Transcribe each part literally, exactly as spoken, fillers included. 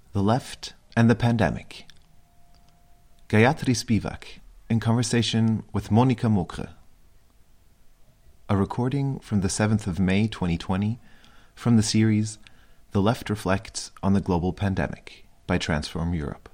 The Left and the Pandemic. Gayatri Spivak, in conversation with Monica Mokre. A recording from the seventh of May twenty twenty from the series The Left Reflects on the Global Pandemic by Transform Europe.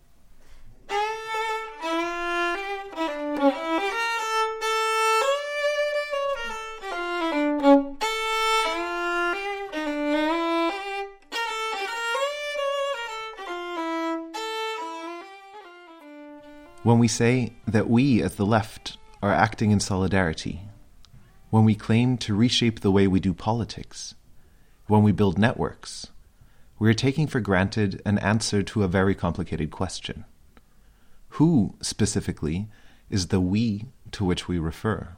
When we say that we as the left are acting in solidarity, when we claim to reshape the way we do politics, when we build networks, we are taking for granted an answer to a very complicated question. Who, specifically, is the we to which we refer?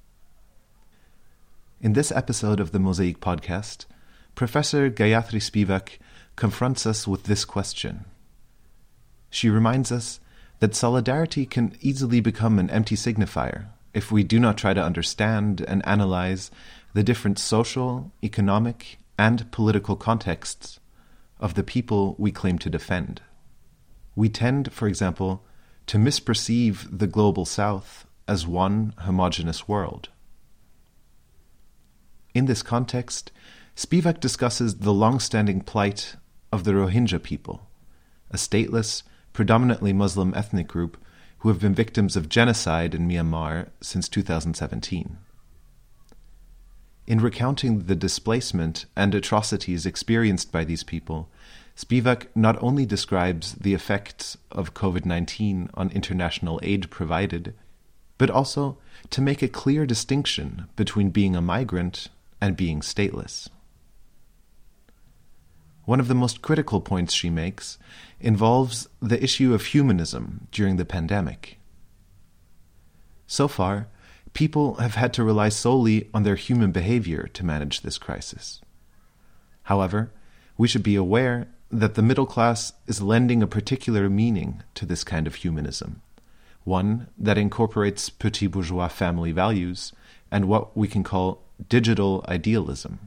In this episode of the Mosaic podcast, Professor Gayatri Spivak confronts us with this question. She reminds us that solidarity can easily become an empty signifier if we do not try to understand and analyze the different social, economic, and political contexts of the people we claim to defend. We tend, for example, to misperceive the global South as one homogeneous world. In this context, Spivak discusses the long-standing plight of the Rohingya people, a stateless, predominantly Muslim ethnic group who have been victims of genocide in Myanmar since two thousand seventeen. In recounting the displacement and atrocities experienced by these people, Spivak not only describes the effects of covid nineteen on international aid provided, but also to make a clear distinction between being a migrant and being stateless. One of the most critical points she makes involves the issue of humanism during the pandemic. So far, people have had to rely solely on their human behavior to manage this crisis. However, we should be aware that the middle class is lending a particular meaning to this kind of humanism, one that incorporates petit bourgeois family values and what we can call digital idealism.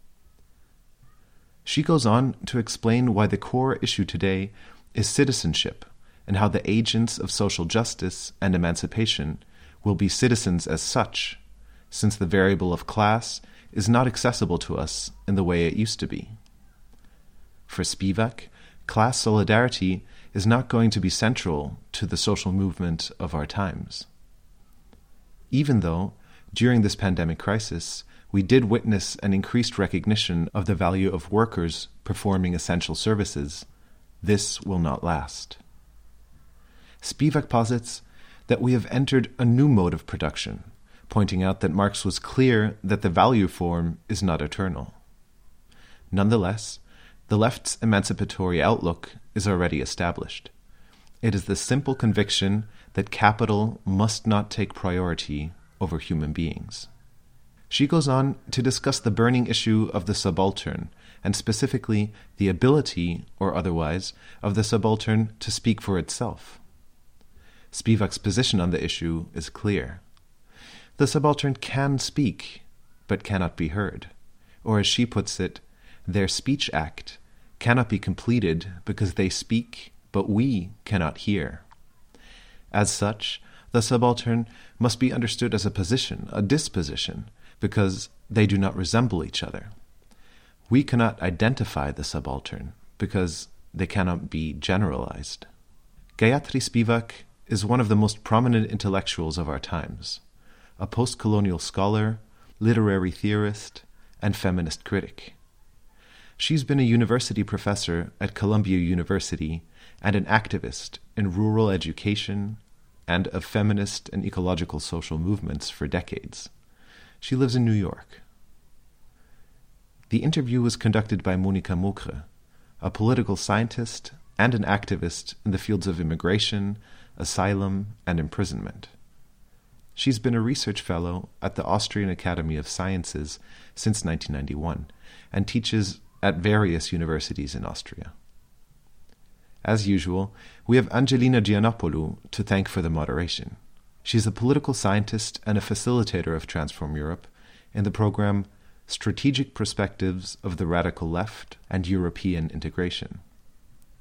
She goes on to explain why the core issue today is citizenship and how the agents of social justice and emancipation will be citizens as such, since the variable of class is not accessible to us in the way it used to be. For Spivak, class solidarity is not going to be central to the social movement of our times. Even though, during this pandemic crisis, we did witness an increased recognition of the value of workers performing essential services, this will not last. Spivak posits that we have entered a new mode of production, pointing out that Marx was clear that the value form is not eternal. Nonetheless, the left's emancipatory outlook is already established. It is the simple conviction that capital must not take priority over human beings. She goes on to discuss the burning issue of the subaltern, and specifically the ability, or otherwise, of the subaltern to speak for itself. Spivak's position on the issue is clear. The subaltern can speak, but cannot be heard. Or as she puts it, their speech act cannot be completed because they speak, but we cannot hear. As such, the subaltern must be understood as a position, a disposition, because they do not resemble each other. We cannot identify the subaltern because they cannot be generalized. Gayatri Spivak is one of the most prominent intellectuals of our times, a post-colonial scholar, literary theorist, and feminist critic. She's been a university professor at Columbia University and an activist in rural education and of feminist and ecological social movements for decades. She lives in New York. The interview was conducted by Monica Mokre, a political scientist and an activist in the fields of immigration, asylum, and imprisonment. She's been a research fellow at the Austrian Academy of Sciences since nineteen ninety-one and teaches at various universities in Austria. As usual, we have Angelina Giannopoulou to thank for the moderation. She's a political scientist and a facilitator of Transform Europe in the program Strategic Perspectives of the Radical Left and European Integration.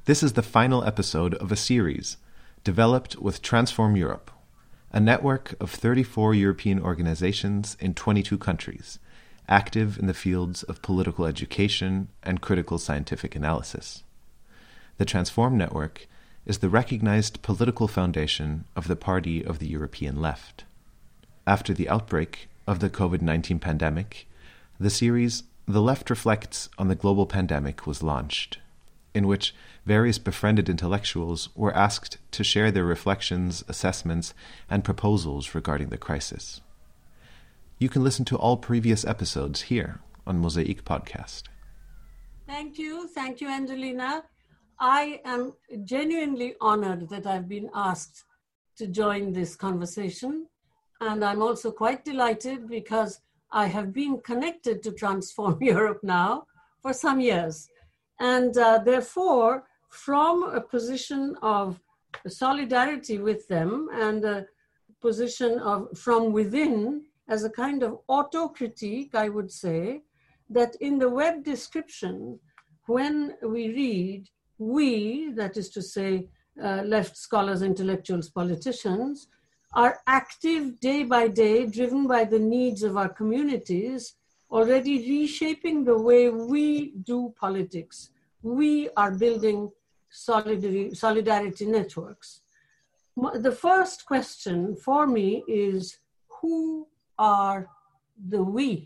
This is the final episode of a series developed with Transform Europe, a network of thirty-four European organizations in twenty-two countries, active in the fields of political education and critical scientific analysis. The Transform Network is the recognized political foundation of the Party of the European Left. After the outbreak of the COVID nineteen pandemic, the series The Left Reflects on the Global Pandemic was launched, in which various befriended intellectuals were asked to share their reflections, assessments, and proposals regarding the crisis. You can listen to all previous episodes here on Mosaic Podcast. Thank you. Thank you, Angelina. I am genuinely honored that I've been asked to join this conversation. And I'm also quite delighted because I have been connected to Transform Europe now for some years. And uh, therefore, from a position of solidarity with them and a position of from within, as a kind of auto-critique, I would say, that in the web description, when we read, we, that is to say, uh, left scholars, intellectuals, politicians, are active day by day, driven by the needs of our communities, already reshaping the way we do politics. We are building solidarity, solidarity networks. The first question for me is, who are the we?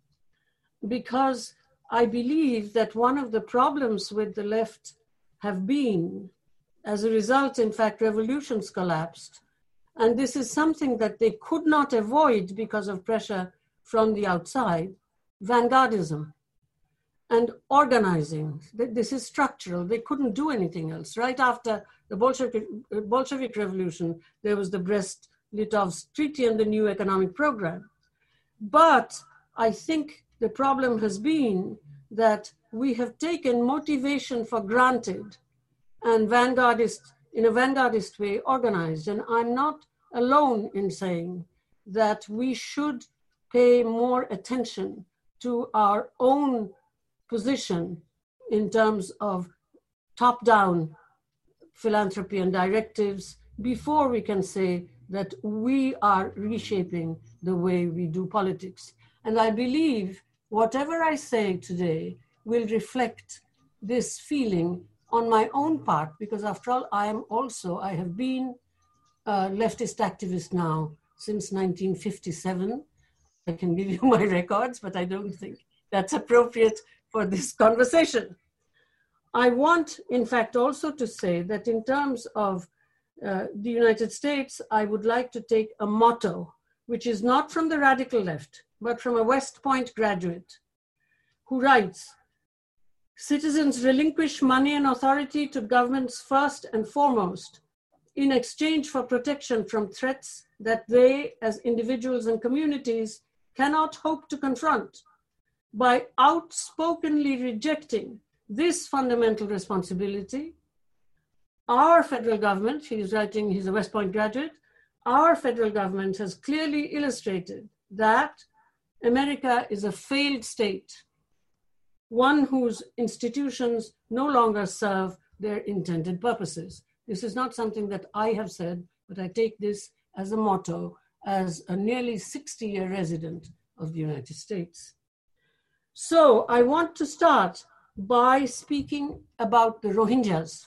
Because I believe that one of the problems with the left have been, as a result, in fact, revolutions collapsed. And this is something that they could not avoid because of pressure from the outside, vanguardism and organizing. This is structural. They couldn't do anything else. Right after the Bolshevik, Bolshevik Revolution, there was the Brest-Litovsk Treaty and the new economic program. But I think the problem has been that we have taken motivation for granted and vanguardist, in a vanguardist way, organized. And I'm not alone in saying that we should pay more attention to our own position in terms of top-down philanthropy and directives before we can say that we are reshaping the way we do politics. And I believe whatever I say today will reflect this feeling on my own part, because after all, I am also, I have been a leftist activist now since nineteen fifty-seven. I can give you my records, but I don't think that's appropriate for this conversation. I want, in fact, also to say that in terms of uh, the United States, I would like to take a motto, which is not from the radical left, but from a West Point graduate who writes, "Citizens relinquish money and authority to governments first and foremost in exchange for protection from threats that they, as individuals and communities, cannot hope to confront. By outspokenly rejecting this fundamental responsibility, our federal government," he is writing, he's a West Point graduate, "our federal government has clearly illustrated that America is a failed state, one whose institutions no longer serve their intended purposes." This is not something that I have said, but I take this as a motto as a nearly sixty-year resident of the United States. So I want to start by speaking about the Rohingyas.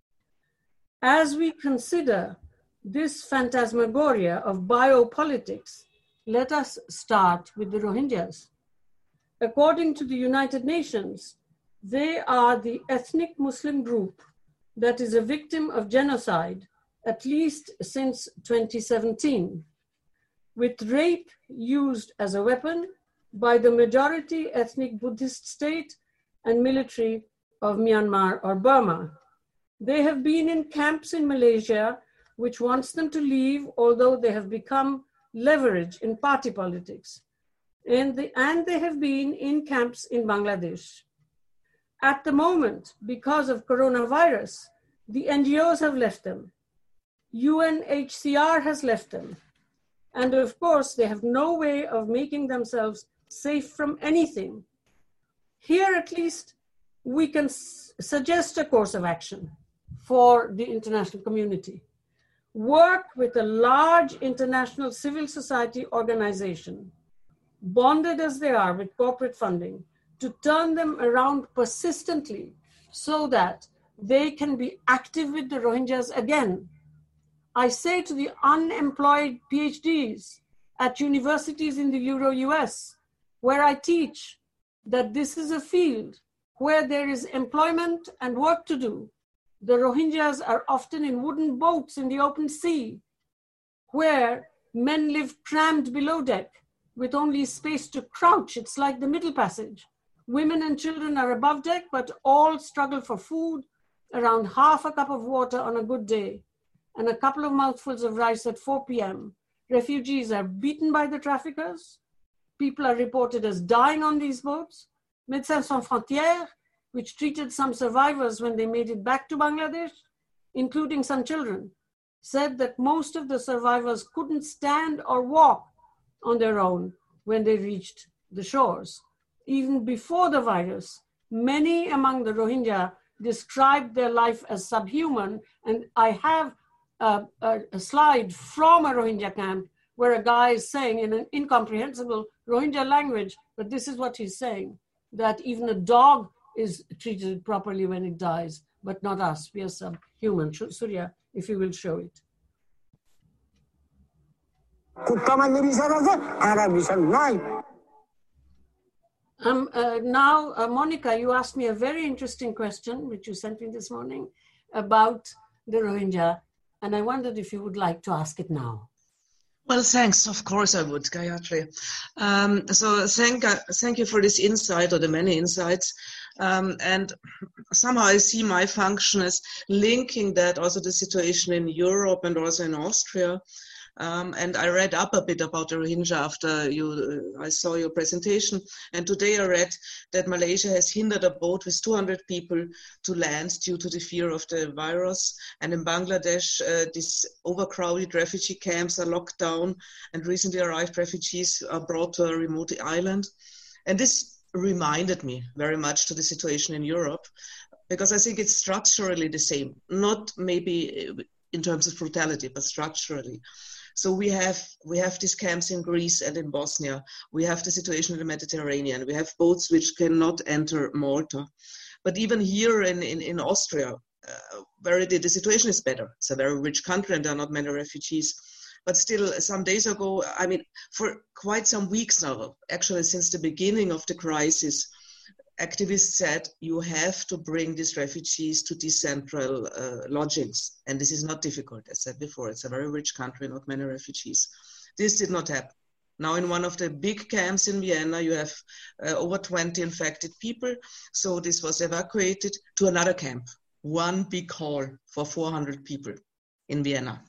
As we consider this phantasmagoria of biopolitics, let us start with the Rohingyas. According to the United Nations, they are the ethnic Muslim group that is a victim of genocide, at least since twenty seventeen, with rape used as a weapon by the majority ethnic Buddhist state and military of Myanmar or Burma. They have been in camps in Malaysia, which wants them to leave, although they have become leverage in party politics. And, the, and they have been in camps in Bangladesh. At the moment, because of coronavirus, the N G Os have left them. U N H C R has left them. And of course, they have no way of making themselves safe from anything. Here, at least, we can s- suggest a course of action for the international community. Work with a large international civil society organization, bonded as they are with corporate funding, to turn them around persistently so that they can be active with the Rohingyas again. I say to the unemployed PhDs at universities in the Euro-U S, where I teach, that this is a field where there is employment and work to do. The Rohingyas are often in wooden boats in the open sea, where men live crammed below deck with only space to crouch. It's like the Middle Passage. Women and children are above deck, but all struggle for food, around half a cup of water on a good day, and a couple of mouthfuls of rice at four p.m. Refugees are beaten by the traffickers. People are reported as dying on these boats. Médecins Sans Frontières, which treated some survivors when they made it back to Bangladesh, including some children, said that most of the survivors couldn't stand or walk on their own when they reached the shores. Even before the virus, many among the Rohingya described their life as subhuman, and I have a, a, a slide from a Rohingya camp where a guy is saying in an incomprehensible Rohingya language, but this is what he's saying, that even a dog is treated properly when it dies, but not us. We are subhuman. Surya, if you will show it. Um, uh, now, uh, Monica, you asked me a very interesting question, which you sent me this morning, about the Rohingya, and I wondered if you would like to ask it now. Well, thanks. Of course I would, Gayatri. Um, so thank, uh, thank you for this insight, or the many insights. Um, and somehow I see my function as linking that also the situation in Europe and also in Austria. Um, and I read up a bit about the Rohingya after you, uh, I saw your presentation. And today I read that Malaysia has hindered a boat with two hundred people to land due to the fear of the virus. And in Bangladesh, uh, these overcrowded refugee camps are locked down, and recently arrived refugees are brought to a remote island. And this reminded me very much to the situation in Europe, because I think it's structurally the same, not maybe in terms of brutality, but structurally. So we have we have these camps in Greece and in Bosnia. We have the situation in the Mediterranean. We have boats which cannot enter Malta. But even here in, in, in Austria, uh, where the, the situation is better. It's a very rich country and there are not many refugees. But still, some days ago, I mean, for quite some weeks now, actually since the beginning of the crisis, activists said you have to bring these refugees to decentral uh, lodgings. And this is not difficult, as I said before. It's a very rich country, not many refugees. This did not happen. Now in one of the big camps in Vienna, you have uh, over twenty infected people. So this was evacuated to another camp, one big hall for four hundred people in Vienna.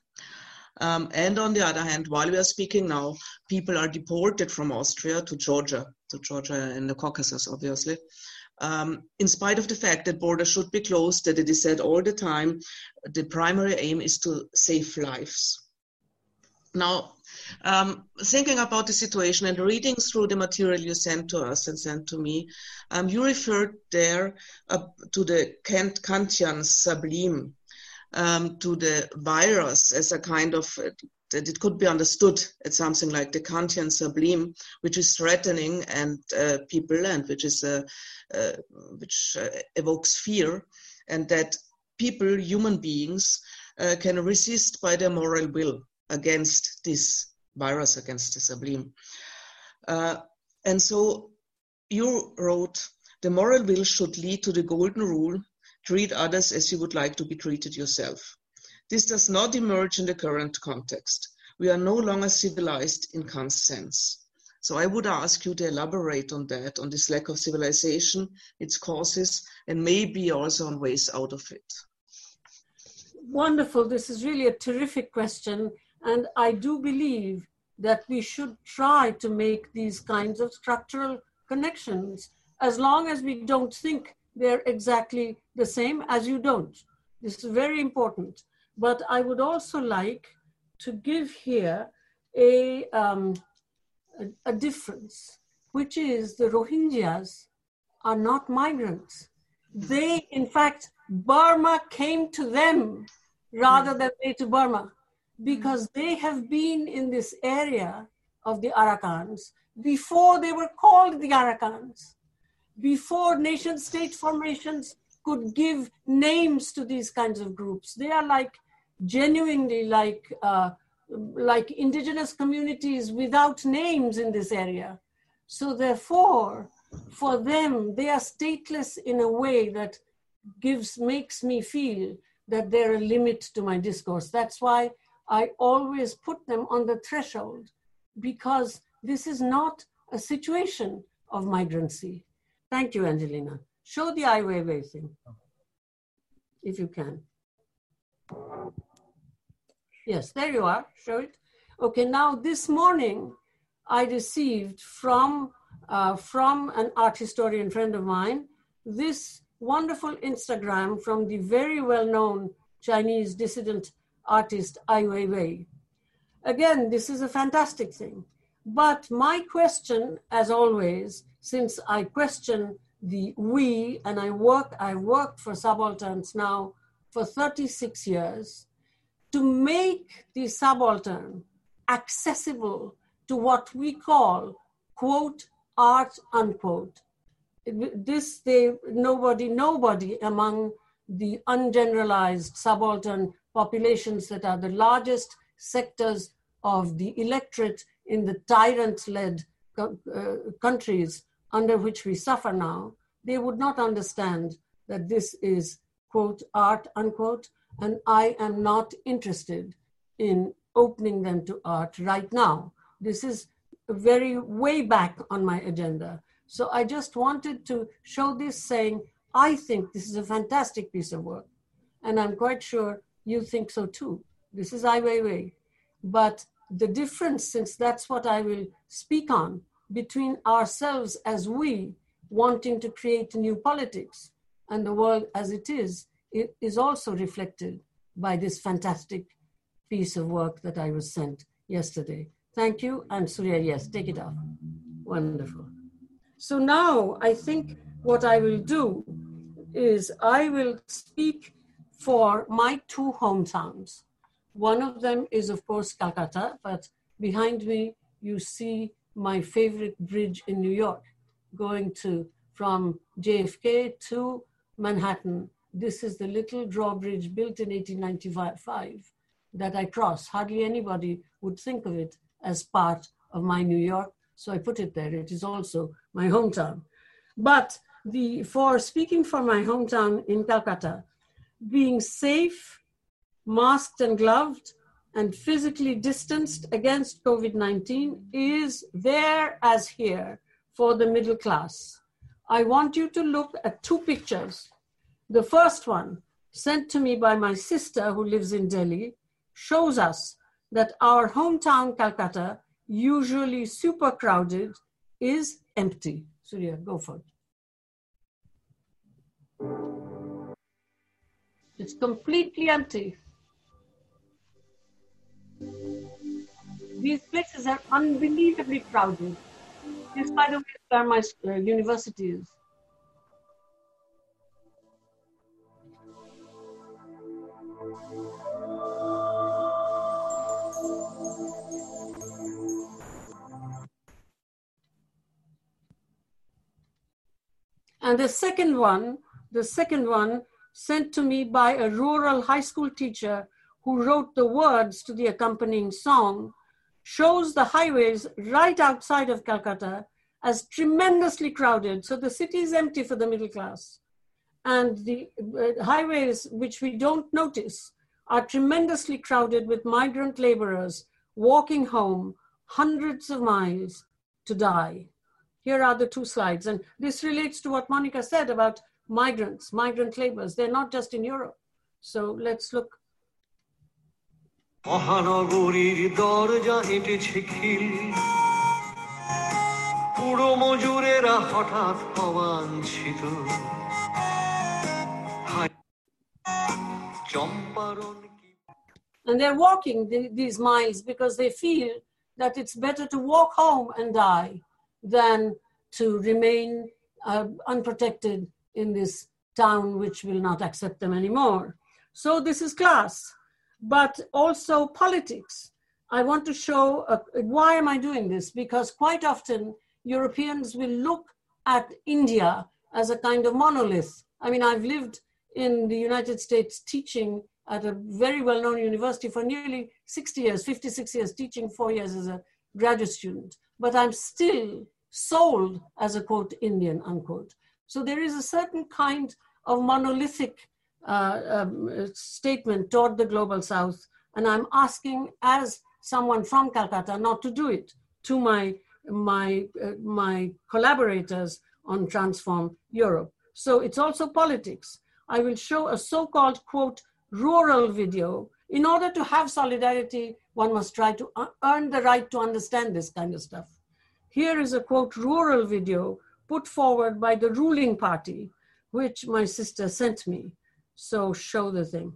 Um, and on the other hand, while we are speaking now, people are deported from Austria to Georgia, to Georgia in the Caucasus, obviously, um, in spite of the fact that borders should be closed, that it is said all the time, the primary aim is to save lives. Now, um, thinking about the situation and reading through the material you sent to us and sent to me, um, you referred there uh, to the Kant Kantian sublime, Um, to the virus as a kind of, uh, that it could be understood as something like the Kantian sublime, which is threatening and uh, people, and which is uh, uh, which uh, evokes fear, and that people, human beings, uh, can resist by their moral will against this virus, against the sublime. Uh, and so you wrote, the moral will should lead to the golden rule, treat others as you would like to be treated yourself. This does not emerge in the current context. We are no longer civilized in Kant's sense. So I would ask you to elaborate on that, on this lack of civilization, its causes, and maybe also on ways out of it. Wonderful. This is really a terrific question. And I do believe that we should try to make these kinds of structural connections, as long as we don't think they're exactly the same, as you don't. This is very important. But I would also like to give here a, um, a, a difference, which is the Rohingyas are not migrants. They, in fact, Burma came to them rather than they to Burma, because they have been in this area of the Arakans before they were called the Arakans, before nation state formations could give names to these kinds of groups. They are like genuinely like, uh, like indigenous communities without names in this area. So therefore, for them, they are stateless in a way that gives, makes me feel that they're a limit to my discourse. That's why I always put them on the threshold, because this is not a situation of migrancy. Thank you, Angelina. Show the Ai Weiwei thing, if you can. Yes, there you are, show it. Okay, now this morning, I received from, uh, from an art historian friend of mine, this wonderful Instagram from the very well-known Chinese dissident artist Ai Weiwei. Again, this is a fantastic thing. But my question, as always, since I question the we, and I work, I worked for subalterns now for thirty-six years, to make the subaltern accessible to what we call, quote, art, unquote. This, they, nobody, nobody among the ungeneralized subaltern populations that are the largest sectors of the electorate in the tyrant-led uh, countries under which we suffer now, they would not understand that this is, quote, art, unquote, and I am not interested in opening them to art right now. This is very way back on my agenda. So I just wanted to show this, saying, I think this is a fantastic piece of work, and I'm quite sure you think so too. This is Ai Weiwei. But the difference, since that's what I will speak on, between ourselves as we wanting to create new politics and the world as it is, it is also reflected by this fantastic piece of work that I was sent yesterday. Thank you. And Surya, yes, take it off. Wonderful. So now I think what I will do is I will speak for my two hometowns. One of them is, of course, Calcutta, but behind me, you see my favorite bridge in New York, going to from J F K to Manhattan. This is the little drawbridge built in eighteen ninety-five that I cross. Hardly anybody would think of it as part of my New York, so I put it there. It is also my hometown. But the, for speaking for my hometown in Calcutta, being safe, masked and gloved, and physically distanced against COVID nineteen is there as here for the middle class. I want you to look at two pictures. The first one, sent to me by my sister who lives in Delhi, shows us that our hometown Calcutta, usually super crowded, is empty. Surya, go for it. It's completely empty. These places are unbelievably crowded. This, by the way, is where my uh, university is. And the second one, the second one sent to me by a rural high school teacher who wrote the words to the accompanying song, shows the highways right outside of Calcutta as tremendously crowded. So the city is empty for the middle class. And the uh, highways, which we don't notice, are tremendously crowded with migrant laborers walking home hundreds of miles to die. Here are the two slides. And this relates to what Monica said about migrants, migrant laborers. They're not just in Europe. So let's look. মহানগরীর দরজা হেঁটেছে খিল পুরো মজুরেরা হঠাৎ অবাঞ্ছিত Champaran And they're walking the, these miles because they feel that it's better to walk home and die than to remain uh, unprotected in this town which will not accept them anymore. So this is class, but also politics. I want to show, uh, why am I doing this? Because quite often Europeans will look at India as a kind of monolith. I mean, I've lived in the United States teaching at a very well-known university for nearly sixty years, fifty-six years, teaching four years as a graduate student. But I'm still sold as a, quote, Indian, unquote. So there is a certain kind of monolithic uh, um, statement toward the global South. And I'm asking, as someone from Calcutta, not to do it to my, my, uh, my collaborators on Transform Europe. So it's also politics. I will show a so-called, quote, rural video. In order to have solidarity, one must try to earn the right to understand this kind of stuff. Here is a, quote, rural video put forward by the ruling party, which my sister sent me. So show the thing.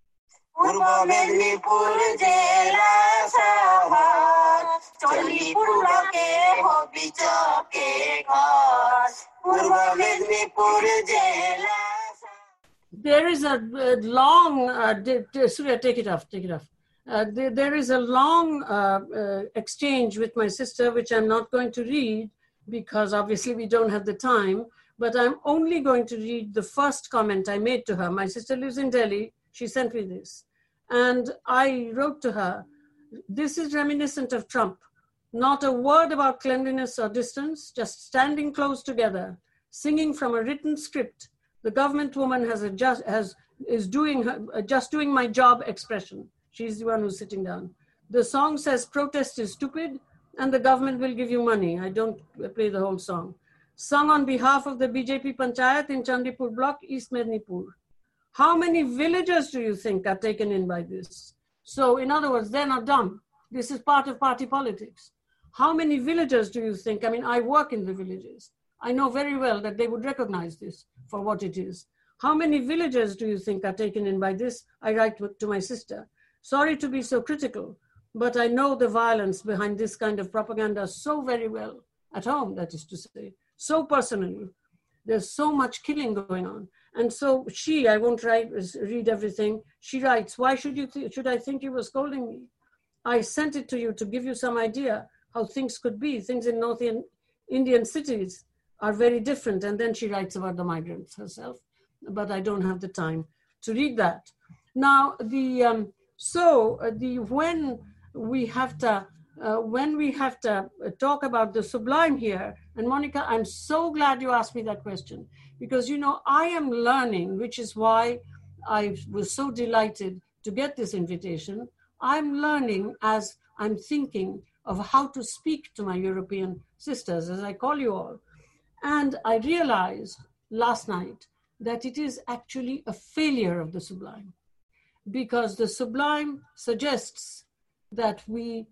There is a, a long, uh, d- d- Surya, take it off, take it off. Uh, there, there is a long uh, uh, exchange with my sister, which I'm not going to read because obviously we don't have the time, but I'm only going to read the first comment I made to her. My sister lives in Delhi. She sent me this. And I wrote to her, this is reminiscent of Trump. Not a word about cleanliness or distance, just standing close together, singing from a written script. The government woman has a just, has, is doing her, uh, just doing my job expression. She's the one who's sitting down. The song says protest is stupid and the government will give you money. I don't play the whole song. Sung on behalf of the B J P Panchayat in Chandipur block, East Mednipur. How many villagers do you think are taken in by this? So in other words, they're not dumb. This is part of party politics. How many villagers do you think? I mean, I work in the villages. I know very well that they would recognize this for what it is. How many villagers do you think are taken in by this? I write to my sister. Sorry to be so critical, but I know the violence behind this kind of propaganda so very well, at home, that is to say, so personally. There's so much killing going on. And so she, I won't write, read everything, she writes, why should, you th- should I think you were scolding me? I sent it to you to give you some idea how things could be. Things in North Indian cities are very different. And then she writes about the migrants herself, but I don't have the time to read that. Now, the um, so uh, the when we have to uh, when we have to talk about the sublime here, and Monica, I'm so glad you asked me that question, because you know I am learning, which is why I was so delighted to get this invitation. I'm learning as I'm thinking of how to speak to my European sisters, as I call you all. And I realized last night that it is actually a failure of the sublime, because the sublime suggests that we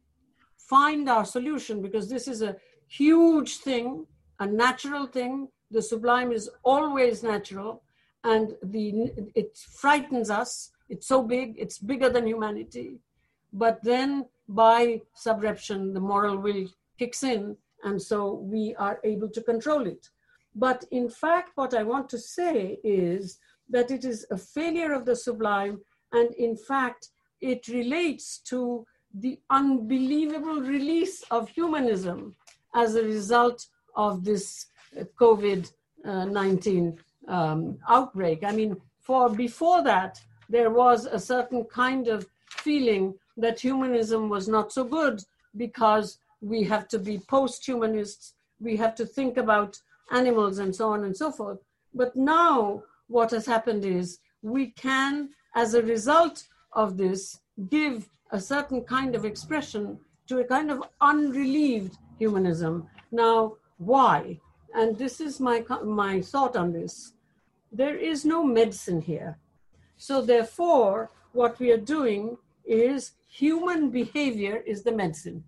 find our solution, because this is a huge thing, a natural thing. The sublime is always natural, and the it frightens us. It's so big, it's bigger than humanity. But then by subreption, the moral will kicks in, and so we are able to control it. But in fact, what I want to say is that it is a failure of the sublime, and in fact, it relates to the unbelievable release of humanism as a result of this COVID nineteen um, outbreak. I mean, for before that, there was a certain kind of feeling that humanism was not so good because we have to be post-humanists, we have to think about animals and so on and so forth. But now what has happened is we can, as a result of this, give a certain kind of expression to a kind of unrelieved humanism. Now, why? And this is my, my thought on this. There is no medicine here. So therefore, what we are doing is human behavior is the medicine.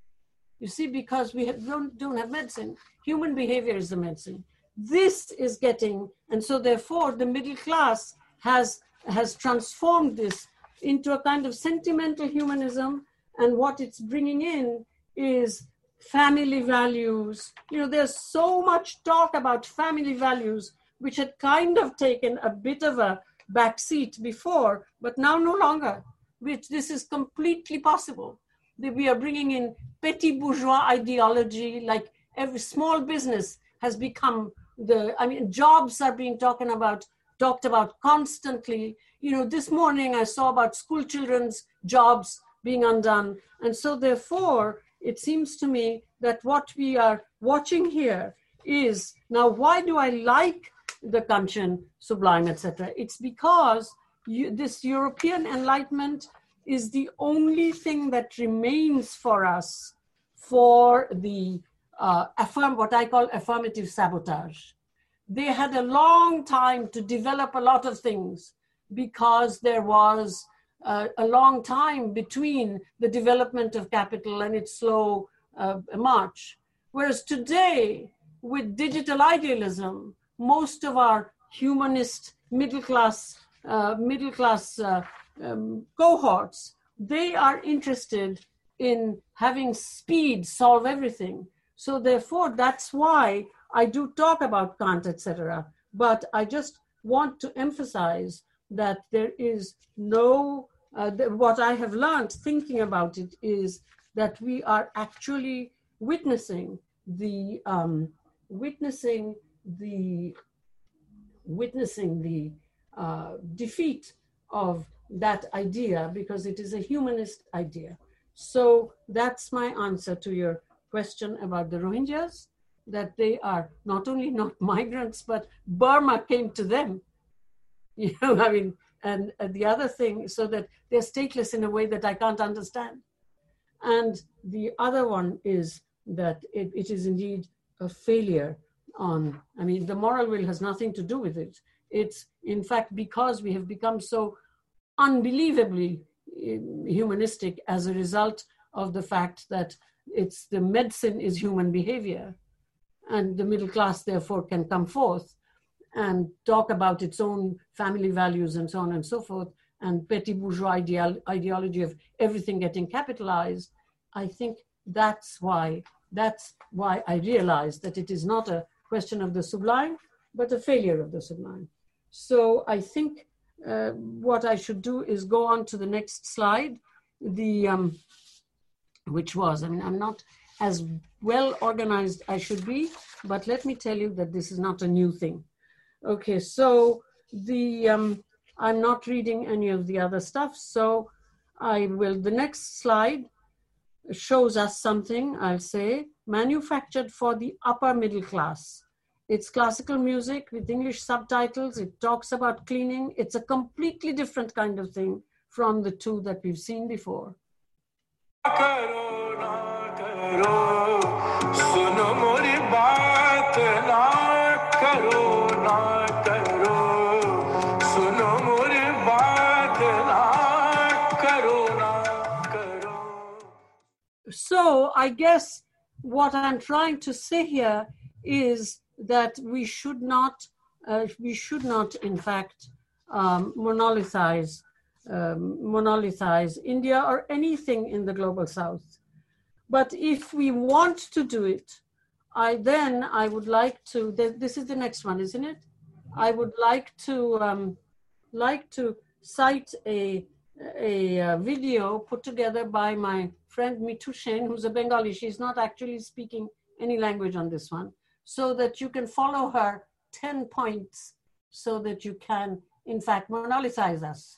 You see, because we have, don't, don't have medicine, human behavior is the medicine. This is getting, and so therefore the middle class has, has transformed this into a kind of sentimental humanism, and what it's bringing in is family values. You know, there's so much talk about family values, which had kind of taken a bit of a backseat before, but now no longer, which this is completely possible. That we are bringing in petty bourgeois ideology, like every small business has become the, I mean, jobs are being talking about, talked about constantly. You know, this morning I saw about school children's jobs being undone. And so therefore, it seems to me that what we are watching here is, now why do I like the Kantian Sublime, et cetera? It's because you, this European Enlightenment is the only thing that remains for us for the uh, affirm, what I call affirmative sabotage. They had a long time to develop a lot of things because there was uh, a long time between the development of capital and its slow uh, march. Whereas today, with digital idealism, most of our humanist middle class, uh, middle class uh, um, cohorts, they are interested in having speed solve everything. So therefore, that's why I do talk about Kant, et cetera. But I just want to emphasize that there is no, uh, th- what I have learned thinking about it is that we are actually witnessing the, um, witnessing the, witnessing the uh, defeat of that idea because it is a humanist idea. So that's my answer to your question about the Rohingyas, that they are not only not migrants, but Burma came to them. You know, I mean, and, and the other thing, so that they're stateless in a way that I can't understand. And the other one is that it, it is indeed a failure on, I mean, the moral will has nothing to do with it. It's, in fact, because we have become so unbelievably humanistic as a result of the fact that it's the medicine is human behavior, and the middle class therefore can come forth and talk about its own family values and so on and so forth, and petty bourgeois ideal, ideology of everything getting capitalized. I think that's why, that's why I realized that it is not a question of the sublime, but a failure of the sublime. So I think uh, what I should do is go on to the next slide, the um, which was, I mean, I'm not as well organized I should be, but let me tell you that this is not a new thing. Okay, so the um, I'm not reading any of the other stuff, so I will, the next slide shows us something, I'll say, manufactured for the upper middle class. It's classical music with English subtitles. It talks about cleaning. It's a completely different kind of thing from the two that we've seen before. So I guess what I'm trying to say here is that we should not, uh, we should not, in fact, um, monolithize, um, monolithize India or anything in the global South. But if we want to do it, I then I would like to. This is the next one, isn't it? I would like to um, like to cite a a, a video put together by my friend Mitu Sen, who's a Bengali. She's not actually speaking any language on this one, so that you can follow her ten points, so that you can, in fact, monolithize us.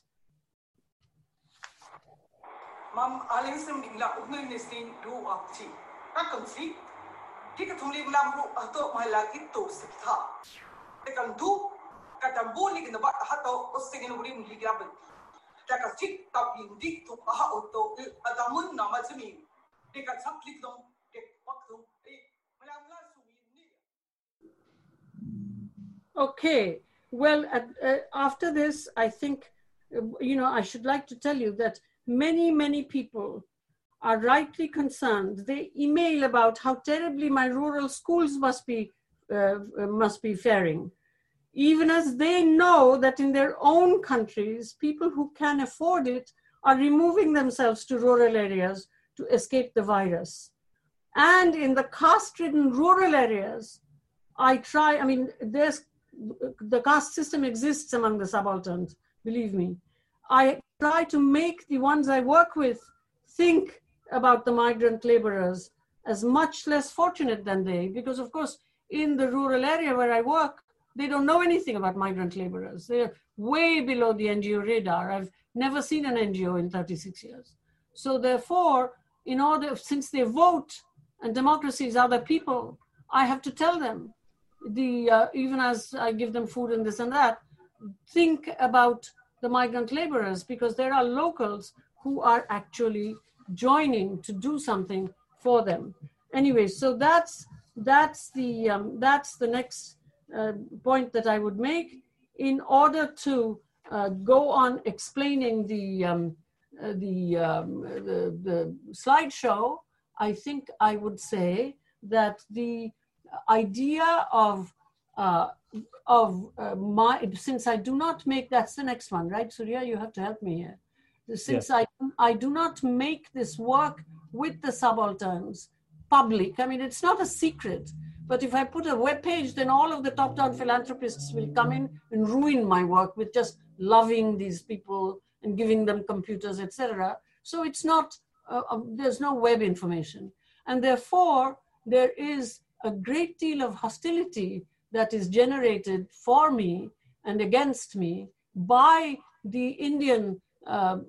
Mam alensem dingla udnul nistin du apchi. Kakamsi. Kika thumli gulam ru ato mahalagi to sikha. Ekam du katambu lig na ba hato osingin urim ligaben. Kaka sik tapin dik to aha auto adamun namazmi. Kika saplik dom kek waktu. Okay, well, uh, uh, after this, I think, uh, you know, I should like to tell you that many, many people are rightly concerned. They email about how terribly my rural schools must be, uh, must be faring, even as they know that in their own countries, people who can afford it are removing themselves to rural areas to escape the virus. And in the caste-ridden rural areas, I try, I mean, there's the caste system exists among the subalterns, believe me. I try to make the ones I work with think about the migrant laborers as much less fortunate than they, because of course, in the rural area where I work, they don't know anything about migrant laborers. They're way below the N G O radar. I've never seen an N G O in thirty-six years. So therefore, in order, since they vote and democracy is other people, I have to tell them, the uh, even as I give them food and this and that, think about the migrant laborers, because there are locals who are actually joining to do something for them. Anyway, so that's that's the um, that's the next uh, point that I would make. In order to uh, go on explaining the um, uh, the, um, the the slideshow, I think I would say that the idea of uh, of uh, my, since I do not make, that's the next one, right, Surya? You have to help me here. Since yes. I, I do not make this work with the subalterns public, I mean, it's not a secret, but if I put a web page, then all of the top-down philanthropists will come in and ruin my work with just loving these people and giving them computers, et cetera. So it's not, uh, uh, there's no web information. And therefore, there is a great deal of hostility that is generated for me and against me by the Indian uh,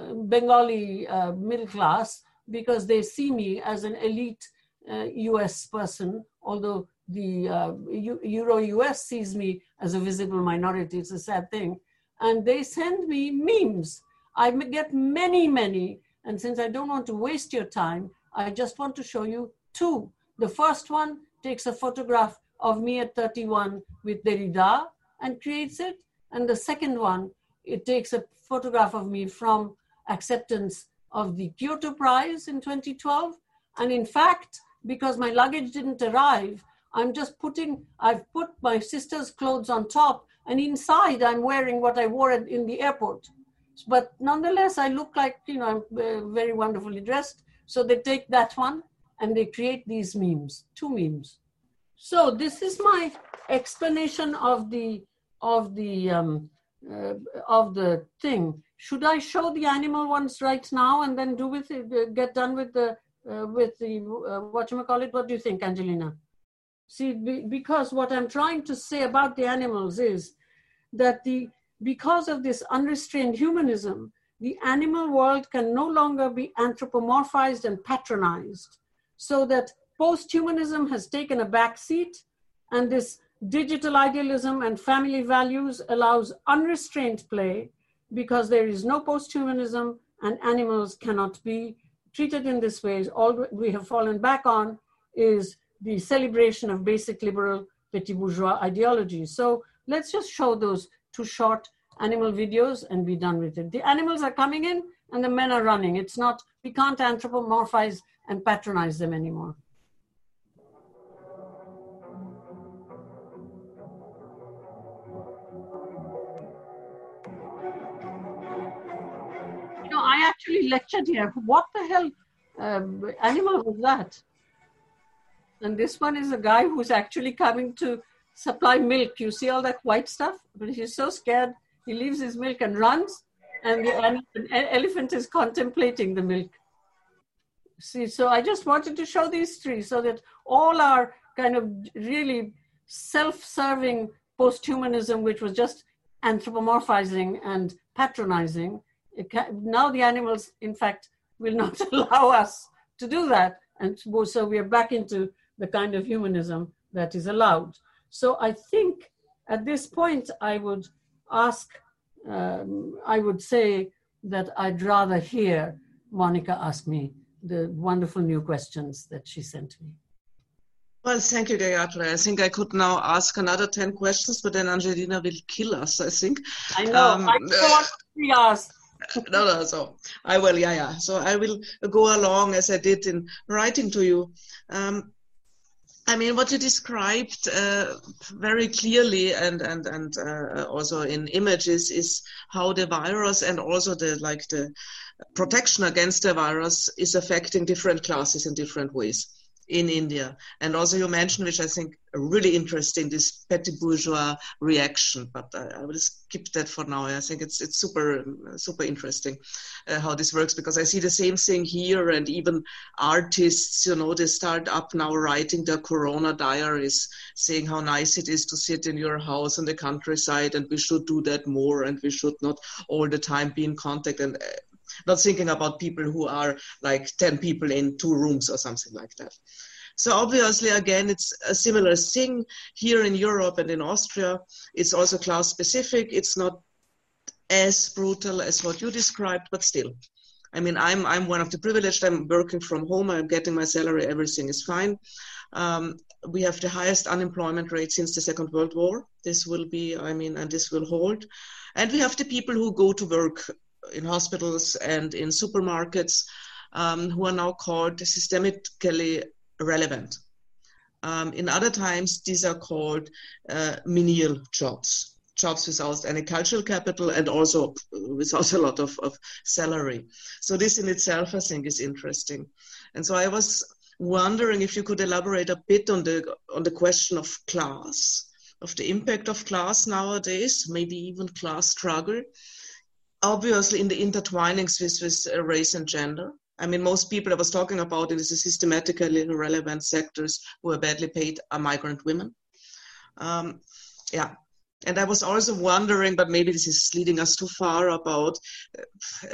Bengali uh, middle class, because they see me as an elite uh, U S person, although the uh, Euro-U S sees me as a visible minority. It's a sad thing. And they send me memes. I get many, many. And since I don't want to waste your time, I just want to show you two. The first one takes a photograph of me at thirty-one with Derrida and creates it. And the second one, it takes a photograph of me from acceptance of the Kyoto Prize in twenty twelve. And in fact, because my luggage didn't arrive, I'm just putting, I've put my sister's clothes on top, and inside I'm wearing what I wore in the airport. But nonetheless, I look like, you know, I'm very wonderfully dressed. So they take that one and they create these memes, two memes. So this is my explanation of the of the um, uh, of the thing. Should I show the animal ones right now and then do with it, uh, get done with the uh, with the uh, whatchamacallit? What do you think, Angelina? See, be, because what I'm trying to say about the animals is that the because of this unrestrained humanism, the animal world can no longer be anthropomorphized and patronized, so that post-humanism has taken a back seat, and this digital idealism and family values allows unrestrained play, because there is no post-humanism and animals cannot be treated in this way. All we have fallen back on is the celebration of basic liberal petit bourgeois ideology. So let's just show those two short animal videos and be done with it. The animals are coming in and the men are running. It's not, we can't anthropomorphize and patronize them anymore. You know, I actually lectured here. What the hell um, animal was that? And this one is a guy who's actually coming to supply milk. You see all that white stuff? But he's so scared, he leaves his milk and runs, and the elephant, elephant is contemplating the milk. See, so I just wanted to show these three so that all our kind of really self-serving post-humanism, which was just anthropomorphizing and patronizing, it can, now the animals, in fact, will not allow us to do that. And so we are back into the kind of humanism that is allowed. So I think at this point, I would ask, um, I would say that I'd rather hear Monica ask me the wonderful new questions that she sent me. Well, thank you, Gayatri. I think I could now ask another ten questions, but then Angelina will kill us, I think. I know, um, I know what she asked. No, no, so I will, yeah, yeah. So I will go along as I did in writing to you. Um, I mean, what you described uh, very clearly and and and uh, also in images is how the virus and also the like the protection against the virus is affecting different classes in different ways. in India. And also you mentioned, which I think really interesting, this petit bourgeois reaction, but I, I will skip that for now. I think it's it's super, super interesting uh, how this works, because I see the same thing here, and even artists, you know, they start up now writing their Corona diaries, saying how nice it is to sit in your house in the countryside, and we should do that more, and we should not all the time be in contact, and uh, not thinking about people who are like ten people in two rooms or something like that. So obviously, again, it's a similar thing here in Europe and in Austria. It's also class specific. It's not as brutal as what you described, but still. I mean, I'm I'm one of the privileged. I'm working from home. I'm getting my salary. Everything is fine. Um, we have the highest unemployment rate since the Second World War. This will be, I mean, and this will hold. And we have the people who go to work in hospitals and in supermarkets, um, who are now called systemically relevant. Um, in other times, these are called uh, menial jobs, jobs without any cultural capital and also without a lot of, of salary. So this in itself, I think, is interesting. And so I was wondering if you could elaborate a bit on the on the question of class, of the impact of class nowadays, maybe even class struggle. Obviously, in the intertwinings with, with uh, race and gender. I mean, most people I was talking about in the systematically relevant sectors who are badly paid are migrant women. Um, yeah. And I was also wondering, but maybe this is leading us too far, about uh,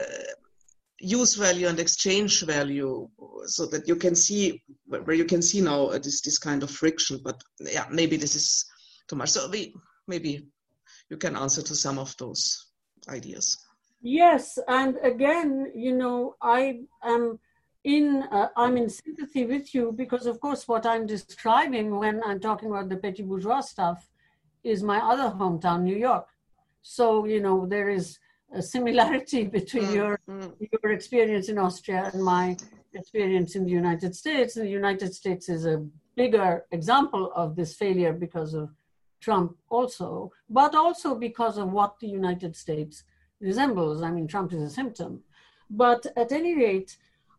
use value and exchange value, so that you can see, where you can see now uh, this, this kind of friction. But yeah, maybe this is too much. So we, maybe you can answer to some of those ideas. Yes, and again, you know, I am in, uh, I'm in sympathy with you, because of course what I'm describing when I'm talking about the petit bourgeois stuff is my other hometown, New York. So, you know, there is a similarity between mm, your, mm. your experience in Austria and my experience in the United States. And the United States is a bigger example of this failure because of Trump also, but also because of what the United States resembles. I mean, Trump is a symptom. But at any rate,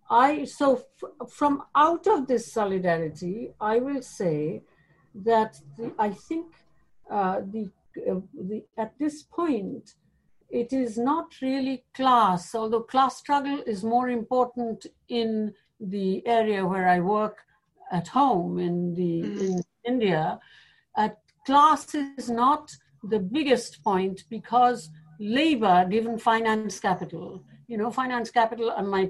I so f- from out of this solidarity, I will say that the, I think uh, the, uh, the at this point, it is not really class, although class struggle is more important in the area where I work at home in the mm. in India. At class is not the biggest point, because labor, given finance capital, you know, finance capital, and my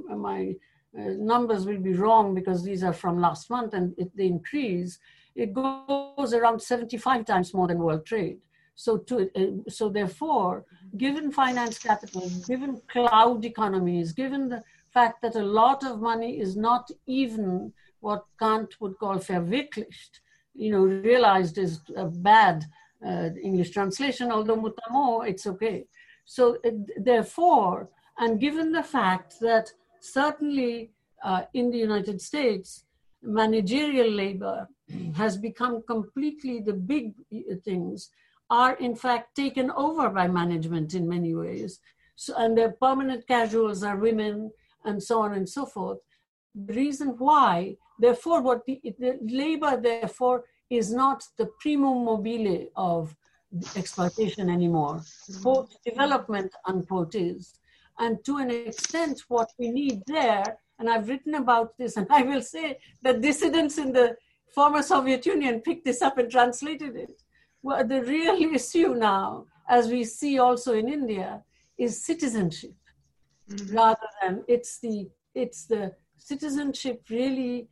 my uh, numbers will be wrong because these are from last month and it, they increase, it goes around seventy-five times more than world trade. So to uh, so therefore, given finance capital, given cloud economies, given the fact that a lot of money is not even what Kant would call verwirklicht, you know, realized is a bad Uh, English translation, although mutamo, it's okay. So uh, therefore, and given the fact that certainly uh, in the United States, managerial labor has become completely, the big things are in fact taken over by management in many ways. So, and their permanent casuals are women and so on and so forth. The reason why, therefore, what the, the labor, therefore, is not the primum mobile of exploitation anymore. Quote, development, unquote, is. And to an extent, what we need there, and I've written about this, and I will say that dissidents in the former Soviet Union picked this up and translated it. Well, the real issue now, as we see also in India, is citizenship. Mm-hmm. Rather than, it's the, it's the citizenship really